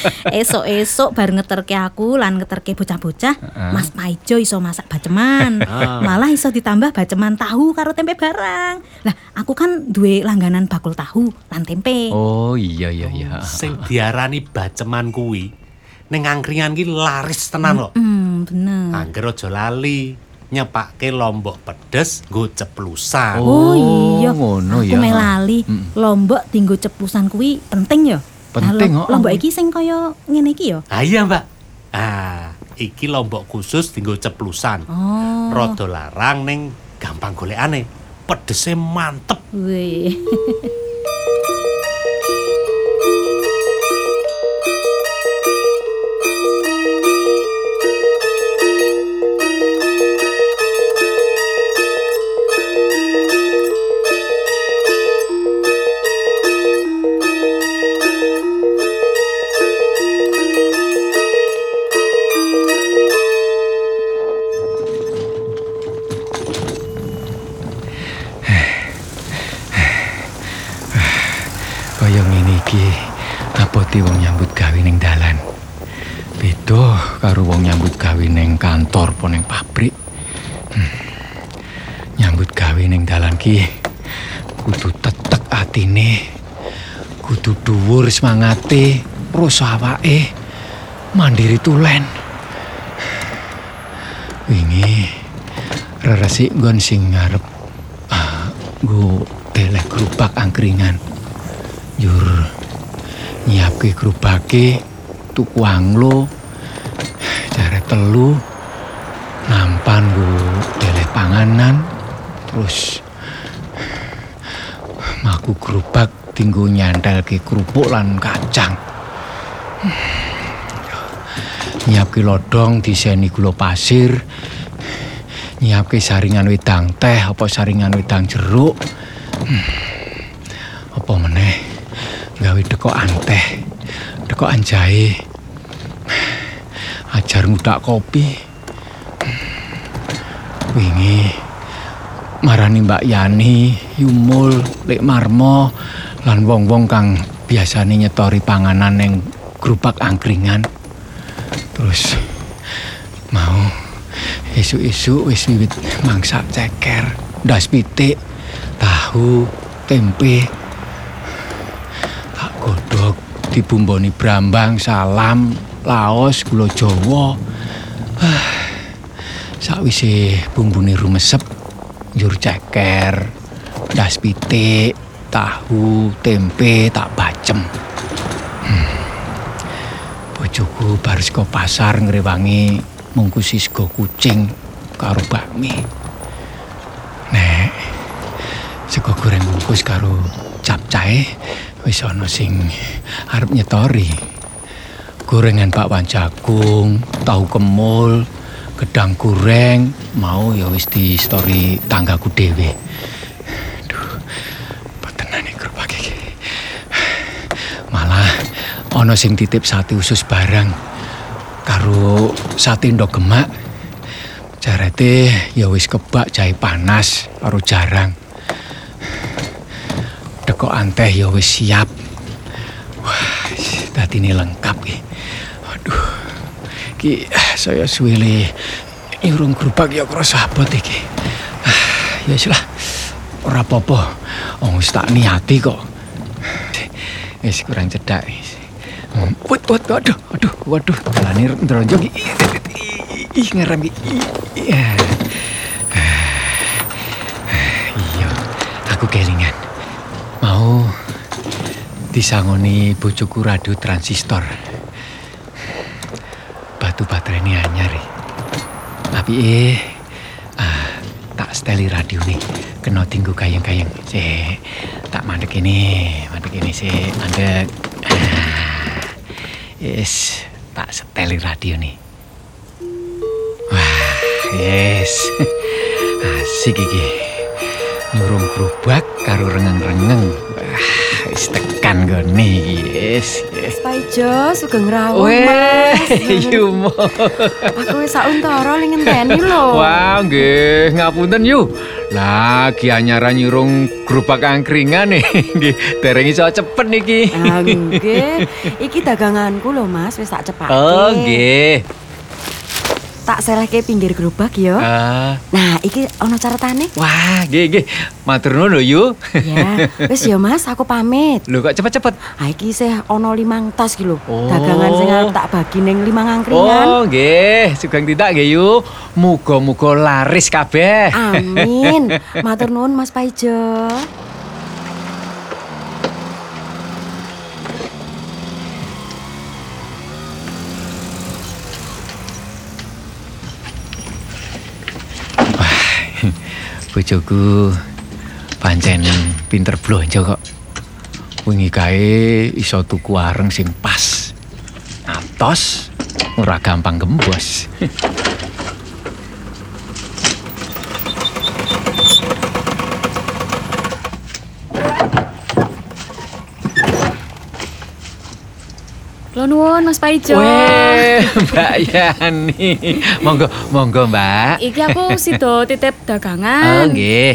Esok-esok bar ngeterke aku lan ngeterke bocah-bocah, Mas Paijo iso masak baceman. Ah. Malah iso ditambah baceman tahu karo tempe barang. Lah, aku kan duwe langganan bakul tahu lan tempe. Oh, iya iya iya. Sing diarani baceman kuwi ning angkringan ki laris tenan lho. Hmm, bener. Angger aja lali nyepake lombok pedes nggo ceplusan. Oh, iya, ngono aku ya. melali. Mm. Lombok dinggo ceplusan kuwi penting ya. Penting, Nah, oh. Lombok iki sing kaya ngene iki ya. Ah iya, Mbak. Ah, iki lombok khusus dinggo ceplusan. Oh. Rada larang ning gampang golekane. Pedese mantep. Wih. Kaya ngene iki abote wong nyambut gawe ning dalan. Beda karo wong nyambut gawe ning kantor apa ning pabrik. Hmm. Nyambut gawe ning dalan ki kudu tetek atine. Kudu dhuwur semangate, rasa awake, mandiri tulen. Wingi reresik nggon sing ngarep ah, nggo delek gerobak angkringan. Jur nyiapke gerobake tuku anglo jare telu nampan nggo delek panganan terus maku gerobak dinggo nyantelke kerupuk lan kacang. Nyiapke lodong diseni gula pasir, nyiapke saringan wedang teh apa saringan wedang jeruk. Hmm. Apa meneh gawe dekokan teh, dekokan jahe. Ajar ngudak kopi. Wingi marani Mbak Yani, Yumul, Lek Marmo lan wong-wong kang biasane nyetori panganan ning gerobak angkringan. Terus mau esuk-esuk wis wiwit mangsak ceker, ndas pitik, tahu, tempe. Tak godhog dibumboni brambang, salam, laos, gula Jawa. Ah, sakwise bumbune rumesep, njur ceker, ndas pitik, tahu, tempe tak bacem. Hmm. Bojoku bar saka pasar ngrewangi mungkusi sego kucing karo bakmi. Nek sego goreng bungkus karo capcahe wis ana sing arep nyetori. Gorengan bakwan jagung, tahu kemul, gedang goreng mau ya wis di story tanggaku dhewe. Duh, petenan iki gerobak iki. Malah ana sing titip sate usus barang karo sate ndok gemak. Jarete ya wis kebak jahe panas karo jarang. Dekokan teh ya wis siap. Wah, dadine lengkap iki. Aduh. Ki saya suwele nyurung gerobak ya krasa abot iki. Ya wis lah. Ora apa-apa. Wong wis tak niati kok. Wis kurang cedhak. Wut wut aduh aduh waduh dalane ndronjong iki. Ih ngerem iki. Iya. Iya, aku kelingan. Mau disangoni bojoku radio transistor. Batu baterainya anyar. Tapi eh ah, tak steli radio nih. Kena tinggu kayang-kayang. Se tak mandek ini, mandek ini se mandek. Ah, yes, tak steli radio nih. Wah, yes. Asik iki. Nyurung gerobak karo rengeng-rengeng. Wah, wis tekan gone iki. Yes, yes. Paijo sugeng rawuh, Weh, Mas. Yumo. Aku wis sauntara ning ngenteni lho. Wah, nggih, ngapunten yu. Lagi anyaran nyurung gerobak angkringan nih. Nggih, dereng iso cepet niki. Ah, nggih. Iki daganganku lho, Mas, wis tak cepake. Oh, nggih. Tak selehke pinggir gerobak ya. Ah, Nah, iki ana caretane. wah, nggih nggih. Matur nuwun lho, Yu. Ya, wis ya, Mas, aku pamit. Lho kok cepet-cepet? Ah, iki isih ana limang tas iki lho. Oh. Dagangan sing arep tak bagi ning limang angkringan. Oh, nggih. Sugeng tidak nggih, Yu. Muga-muga laris kabeh. Amin. Matur nuwun, Mas Paijo. Bojoku pancen pinter blonjo kok. Wingi kae iso tuku areng sing pas. Atos ora gampang gembos. Kula nuwun Mas Paijo. Weh, Mbak Yani. Monggo, monggo, Mbak. Iki aku sida titip Oh, dagangan. nggih.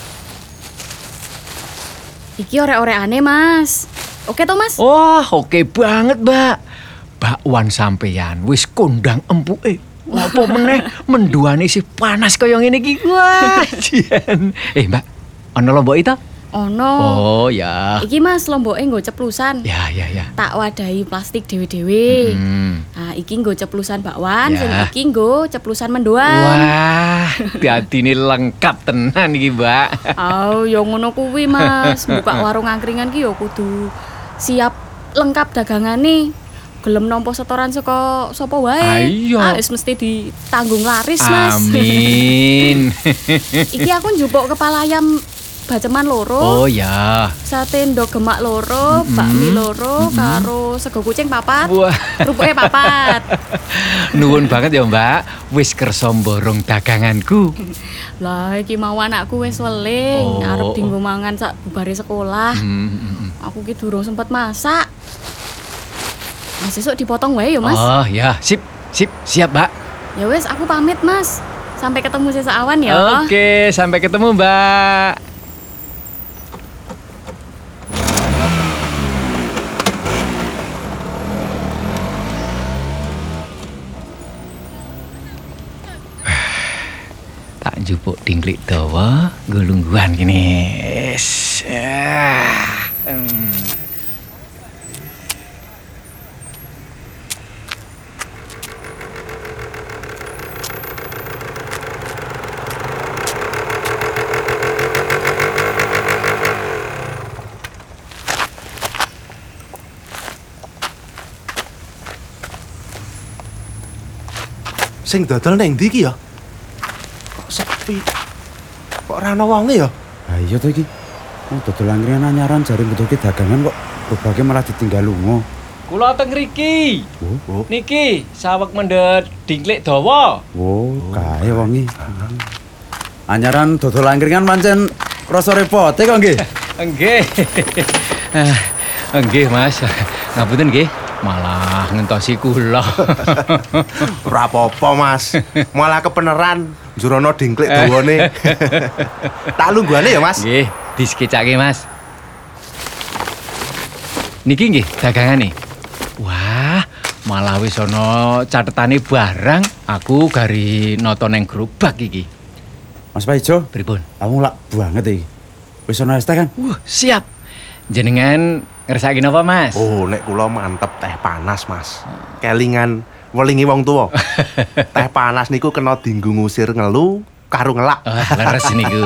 Iki orek-orekane, Mas. Oke toh, Mas? Wah, oke banget, Mbak. Bakwan sampeyan wis kondang empuke. Apa meneh menduane isih panas kaya ngene iki. Wah, jen. Eh, Mbak, ana lombok itu? Ono. Oh, ya. Iki Mas lomboke nggo ceplusan. Ya, ya, ya. Tak wadahi plastik dhewe-dhewe. Hmm. Nah, iki nggo ceplusan bakwan, Ya. sing iki nggo ceplusan mendoan. Wah, dadine lengkap tenan iki, Mbak. Oh, ya ngono kuwi, Mas. Buka warung angkringan ki ya kudu siap lengkap dagangane. Gelem nampa setoran saka sapa wae. Ayo. Ah, wis mesti ditanggung laris, Mas. Amin. Iki aku njupuk kepala ayam baceman loro. Oh ya. Sate ndok gemak loro, bakmi loro, karo sego kucing papat. Wah. Rupuke papat. Nuwun banget ya, Mbak. Wis kersa mborong daganganku. Lah iki mau anakku wis weling, Oh. arep dienggo mangan sak bubare sekolah. Hmm, hmm, hmm. Aku ki durung sempet masak. Mas esuk dipotong wae ya, Mas. Oh ya, sip, sip, siap, Mbak. Ya wis aku pamit, Mas. Sampai ketemu sesuk awan ya. Oke, sampai ketemu, Mbak. Tak jupuk dingklik dawa, gulungguan gini. Yes. Ah. Hmm. Sing dodol neng ndi iki ya? Kok sepi? Kok ora ana wonge ya? Ha iya to iki. Oh, dodol angkringan anyaran jare mbutuhke dagangan kok bobake malah ditinggal lunga. Kula teng mriki. Oh, Niki saweg mendhet dingklik dawa. oh, kae wonge. Anyaran dodol angkringan pancen rasa repote kok nggih. Nggih. Ah, nggih, Mas. Ngapunten nggih. Malah ngentosi kula. Ora apa-apa, Mas. Malah kepeneran jurono dingklik dawane. Tak lungguhane ya, Mas. Nggih, diskecake, Mas. Niki nggih dagangane. Wah, malah wis ana catetane barang. Aku gari nata neng gerobak iki. Mas Paijo, Pripun? kamu lak banget iki. Wis ana es teh kan? Wah, siap. Jenengan ngersake napa, Mas? Oh, nek kula mantep teh panas, Mas. Kelingan welingi wong tuwa. Teh panas niku kena dienggo ngusir ngelu karo ngelak. Wah, leres niku.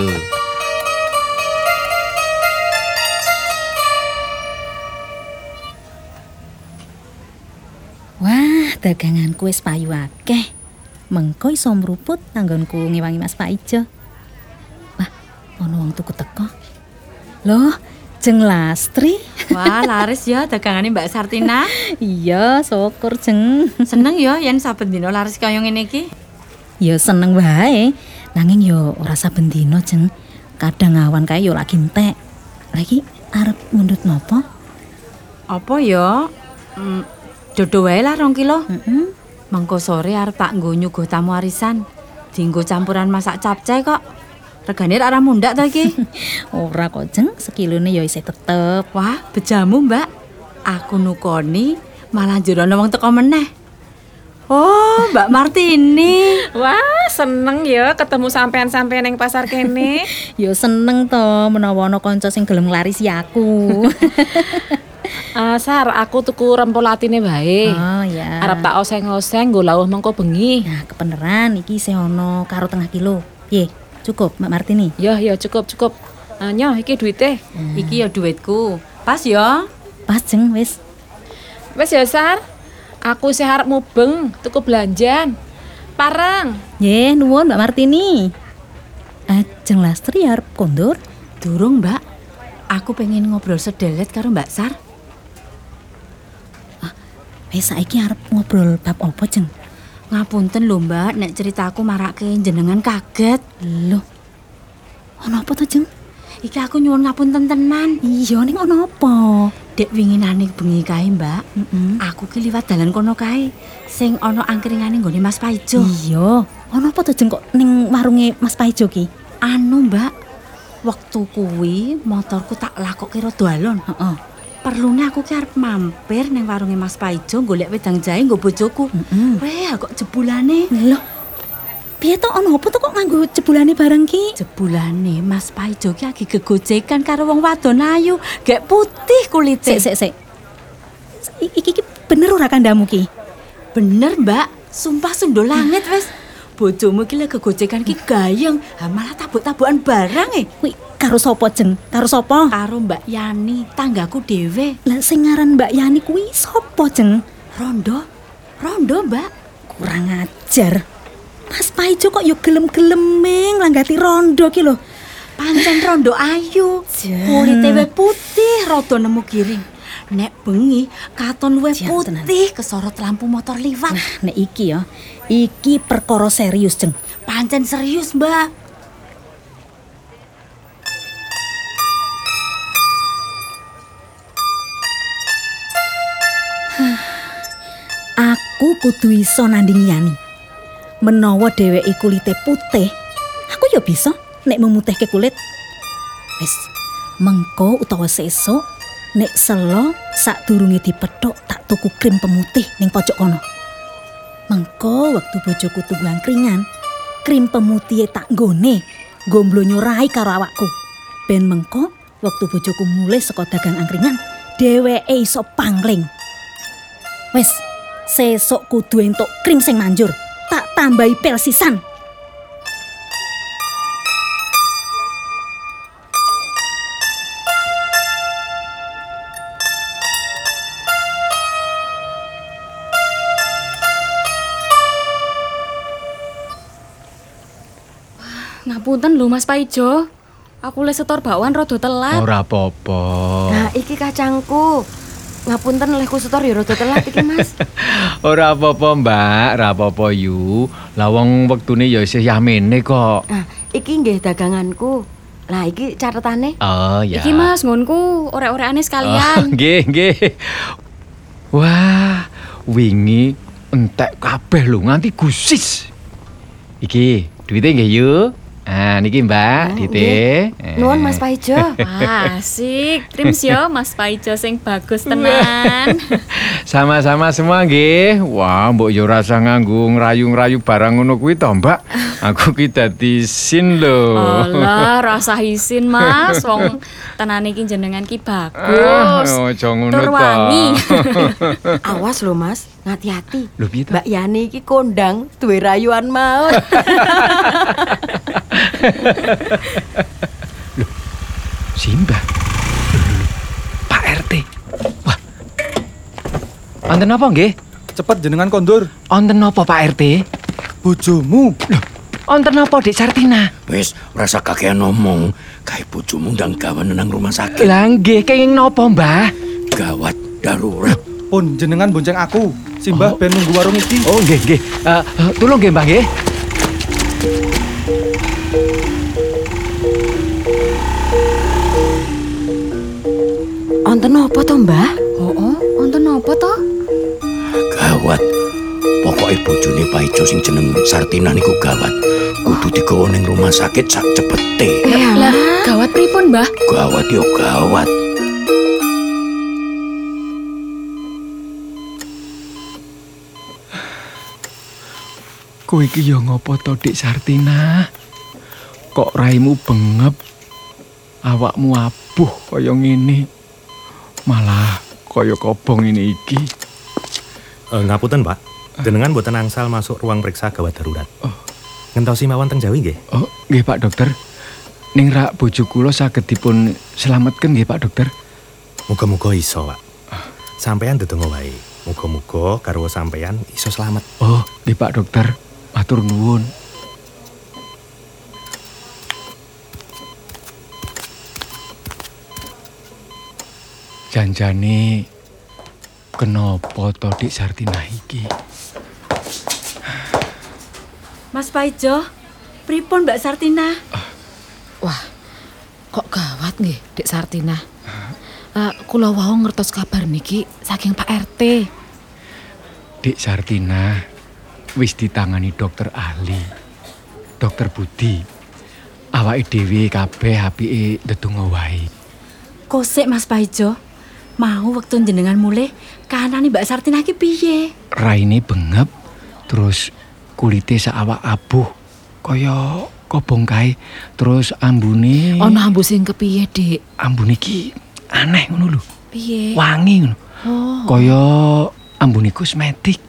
Wah, daganganku wis payu akeh. Mengko iso mruput anggonku ngewangi Mas Paijo. Wah, ana wong tuku teko. Loh, Jeng Lastri. Wah, laris ya dagangane Mbak Sartina. Iya, syukur Jeng. Seneng ya yen saben dina laris kaya ngene iki. Ya seneng wae. Nanging yo ora saben dina, Jeng. Kadang awan kae yo lagi entek. Lagi arep ngundut napa? Apa ya? Hmm, dodo wae lah rong kilo. Heeh. Mengko sore arep tak nggo nyuguh tamu arisan. Dienggo campuran masak capcay kok. Regane ora mundak ta iki? Ora kok, Jeng. Sekilone yo isih tetep. Wah, bejamu, Mbak. Aku nukoni malah jero ana wong teko meneh. Oh, Mbak Martini. Wah, seneng ya ketemu sampean-sampean yang pasar kene. Yo seneng to menawa ana kanca sing gelem nglarisi aku. Uh, Sar, aku tuku rempolatine bae. Oh ya. Arep tak oseng-oseng nggo lawuh mengko bengi. Nah, kebeneran iki isih ana karo tengah kilo. Piye? Cukup, Mbak Martini? Ya, ya cukup, cukup. Uh, nyoh, iki duite. Hmm. Iki ya duitku. Pas ya? Pas, Jeng, wis. Wis ya, Sar. Aku sih arep mubeng tuku belanjan. Pareng. Nggih, nuwun Mbak Martini. Eh, Jeng Lastri arep kondur? Durung, Mbak. Aku pengen ngobrol sedelet karo Mbak Sar. Ah, wis saiki arep ngobrol bab apa, Jeng? Ngapunten lho, Mbak, nek ceritaku marake jenengan kaget. Loh. Ana apa to, Jeng? Iki aku nyuwun ngapunten tenan. Iya, ning ana apa? Dek winginane bengi kae, Mbak. Heeh. Aku ki liwat dalan kono kae. Sing ana angkringane nggone Mas Paijo. Iya. Ana apa to, Jeng, kok ning warunge Mas Paijo ki? Anu, Mbak. Wektu kuwi motorku tak lakokke rada alon. Heeh. Perlune aku ki arep mampir ning warunge Mas Paijo golek wedang jahe nggo bojoku. Heeh. Weh, kok jebulane. Loh. Piye to ana apa to kok nganggo jebulane barang ki? Jebulane Mas Paijo ki lagi gegojekan karo wong wadon ayu, gek putih kulite. Sik, sik, sik. Iki iki bener ora kandamu ki? Bener, Mbak. Sumpah sundo langit wis. Bojomu ki lagi gegojekan ki gayeng, ha malah tabuk-tabukan barang e. Kuwi karo sapa, Jeng? Karo sapa? Karo Mbak Yani, tanggaku dhewe. Lah sing ngaran Mbak Yani kuwi sapa, Jeng? Rondo. Rondo, Mbak. Kurang ajar. Mas Paijo kok yo gelem-geleme nglanggati rondo ki lho. Pancen rondo ayu. Kulite wis putih, rada nemu giring. Nek bengi katon luwih putih kesorot lampu motor liwat. Nah, nek iki ya, iki perkara serius, Jeng. Pancen serius, Mbak. Aku kudu iso nandingi Yani. menawa dheweke kulite putih, aku ya bisa nek memutihke kulit. Wis, mengko utawa sesuk nek selo sadurunge dipethuk tak tuku krim pemutih ning pojok kono. Mengko wektu bojoku tunggu angkringan, krim pemutih tak nggone, nggo mblonyo rai karo awakku. Ben mengko wektu bojoku mulih saka dagang angkringan, dheweke iso pangling. Wis, sesuk kudu entuk krim sing manjur, tak tambahi pil sisan. Ngapunten lho Mas Paijo. Aku le setor bakwan rada telat. Ora apa-apa. Nah, iki kacangku. Ngapunten lehku setor ya rada telat iki, Mas. Ora apa-apa, Mbak. Ora apa-apa yu. Lah wong wektune ya isih yamene kok. Nah, iki nggih daganganku. Lah iki catetane. Oh, ya. Iki Mas ngonku orek-orekane Oh, sekalian. nggih, nggih. Wah, wingi entek kabeh lho nganti gusis. Iki, duwite nggih yu. Ah, niki Mbak, Dite. Nuwun Mas Paijo. Wah, asik. Trims yo Mas Paijo sing bagus tenan. Sama-sama semua nggih. Wah, mbok yo rasa nganggo ngrayu-ngrayu barang ngono kuwi to, Mbak. Aku ki dadi sin lho. Alah, rasa isin Mas. Wong tenane iki jenengan ki bagus. Ah, ojo ngono Tur to. wangi. Awas lho Mas, ngati-hati. Lho piye to? Mbak Yani iki kondang duwe rayuan maut. Loh, Simba. Loh, loh, loh. Pak R T. Wah. Wonten apa nggih? Cepet jenengan kondur. Wonten apa Pak R T? Bojomu. Loh, wonten apa Dik Sartina? Wis, rasa kakean ngomong. Kae bojomu ndang gawan nang rumah sakit. Lah nggih, kenging napa, Mbah? Gawat darurat. Pun jenengan bonceng aku. Simbah ben nunggu warung iki. Oh, nggih, nggih. Eh, uh, tulung nggih, Mbah nggih. Wonten apa to, Mbah? Oh, oh, wonten apa to? Gawat. Pokoke bojone Paijo sing jeneng Sartina niku gawat. Kudu digawa ning rumah sakit sak cepete. Lah, gawat pripun, Mbah? Gawat yo gawat. Kowe iki ya ngopo to, Dik Sartina? Kok raimu bengep? Awakmu abuh kaya ngene. Malah kaya kobong ini iki. Uh, ngapunten, Pak. Jenengan mboten angsal masuk ruang periksa gawat darurat. Oh. Ngentosi mawon teng Jawi nggih? Oh, nggih Pak Dokter. Ning rak bojo kula saged dipun slametken nggih Pak Dokter. Muga-muga iso, Pak. Sampeyan ndedonga wae. Muga-muga garwa sampeyan iso slamet. Oh, nggih Pak Dokter. Matur nuwun. Janjane kenapa to Dik Sartina iki? Mas Paijo, pripun Mbak Sartina? Wah, kok gawat nggih, Dik Sartina. Uh, kula wau ngertos kabar niki saking Pak R T. Dik Sartina wis ditangani dokter ahli. Dokter Budi. Awake dhewe kabeh apike ndedonga wae. Kosek Mas Paijo. Mau wektu jenengan mulih kahanane Mbak Sartina ki piye? Raine bengep, terus kulite saawak abuh kaya kobong kae. Terus ambune Ana ambu sing kepiye, Dik? ambune iki aneh ngono lho. Piye? Wangi ngono. Oh. Kaya ambune kosmetik.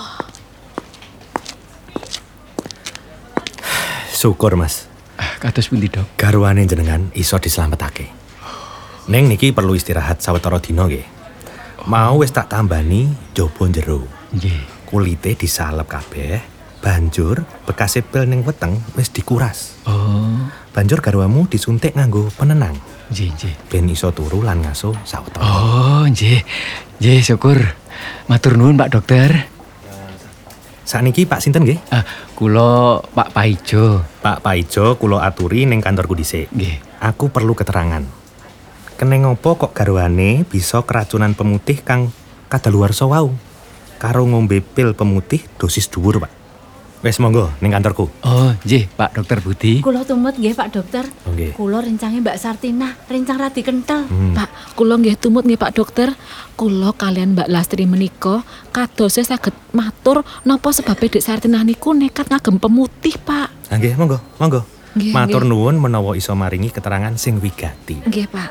Syukur, Mas. Ah, kados pundi, Dok? Garwane jenengan iso dislametake. Neng niki perlu istirahat sawetara dina nggih. Mau wis tak tambani jaba jero. Nggih. Kulite disalep kabeh, banjur bekas pil ning weteng wis dikuras. Oh. Banjur garwamu disuntik nganggo penenang. Nggih, nggih. Ben iso turu lan ngaso sawetara. Oh, nggih. Nggih, syukur. Matur nuwun, Pak Dokter. Sakniki Pak sinten nggih? Ah, kula Pak Paijo. Pak Paijo kula aturi ning kantorku dhisik. Nggih. Aku perlu keterangan. Keneng opo kok garwane bisa keracunan pemutih kang kadaluwarsa wau karo ngombe pil pemutih dosis dhuwur, Pak? Wes monggo ning kantorku. Oh, nggih, Pak Dokter Budi. Kula tumut nggih Pak Dokter. Oh, nggih. Kula rencange Mbak Sartina, rencang radi kentel. Hmm. Pak, kula nggih tumut nggih Pak Dokter. Kula kalian Mbak Lastri menika kadose saged matur napa sebabe Dek Sartinah niku nekat ngagem pemutih, Pak. Ah, nggih, monggo, monggo. Nggih, Matur nggih. nuwun menawa iso maringi keterangan sing wigati. Nggih, Pak.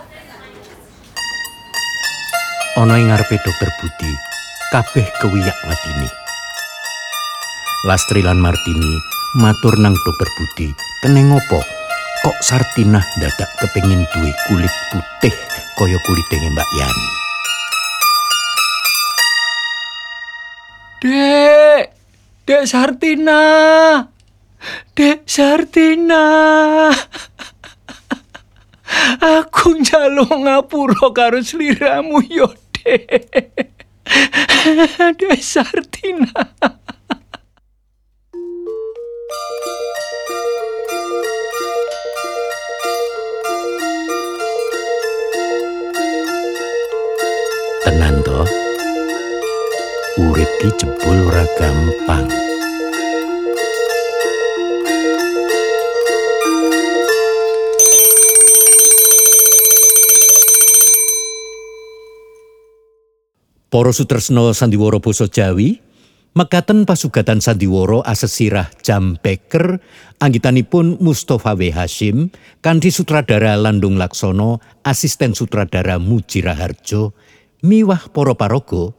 Ana ing ngarepe Dokter Budi, kabeh kewiyak watine. Lastri lan Martini matur nang Dokter Budi, keneng opo kok Sartinah dadak kepengin duwe kulit putih kaya kulite Mbak Yani. Dek, Dek Sartina. Dek Sartina. Aku njaluk ngapura karo sliramu yo, Dek. Dek Sartina. Tenan to, urip ki jebul ora gampang. Para sutresna sandiwara basa Jawi, mekaten pasugatan sandiwara asesirah Jam Beker anggitanipun Mustofa W. Hashim kanthi sutradara Landung Laksono, asisten sutradara Muji Raharjo, miwah para paraga.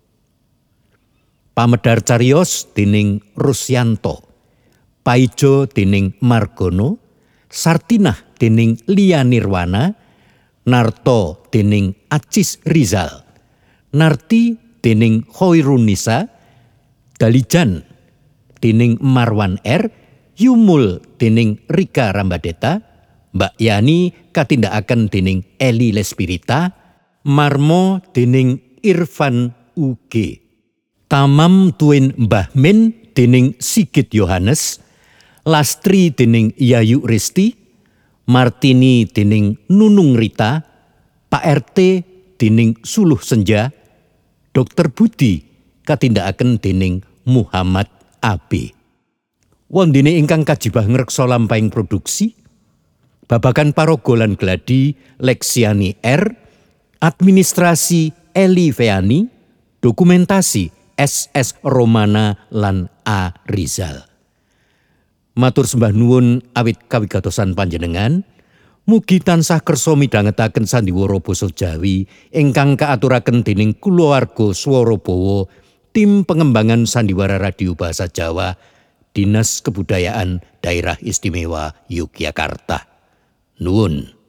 Pamedar cariyos dening Rusyanto, Paijo dening Margono, Sartinah dening Lia Nirwana, Narto dening Acis Rizal, Narti dening Khoirunisa, Dalijan dening Marwan R, Yumul dening Rika Rambadeta, Mbak Yani katindakaken dening Eli Lespirita, Marmo dening Irfan U G, Tamam tuwin Mbah Min dening Sigit Yohanes, Lastri dening Yayu Risti, Martini dening Nunung Rita, Pak R T dening Suluh Senja, Dokter Budi katindakaken dening Muhammad A B. Wondene ingkang kajibah ngreksa lampahing produksi, babagan paraga lan gladi Leksiani R, administrasi Eli Feani, dokumentasi S S Romana lan A Rizal. Matur sembah nuwun awit kawigatosan panjenengan. Mugi tansah kersa midhangetaken sandiwara basa Jawi ingkang kaaturaken dening kulawarga Swara Bawa, tim pengembangan sandiwara radio bahasa Jawa, Dinas Kebudayaan Daerah Istimewa Yogyakarta. Nuwun.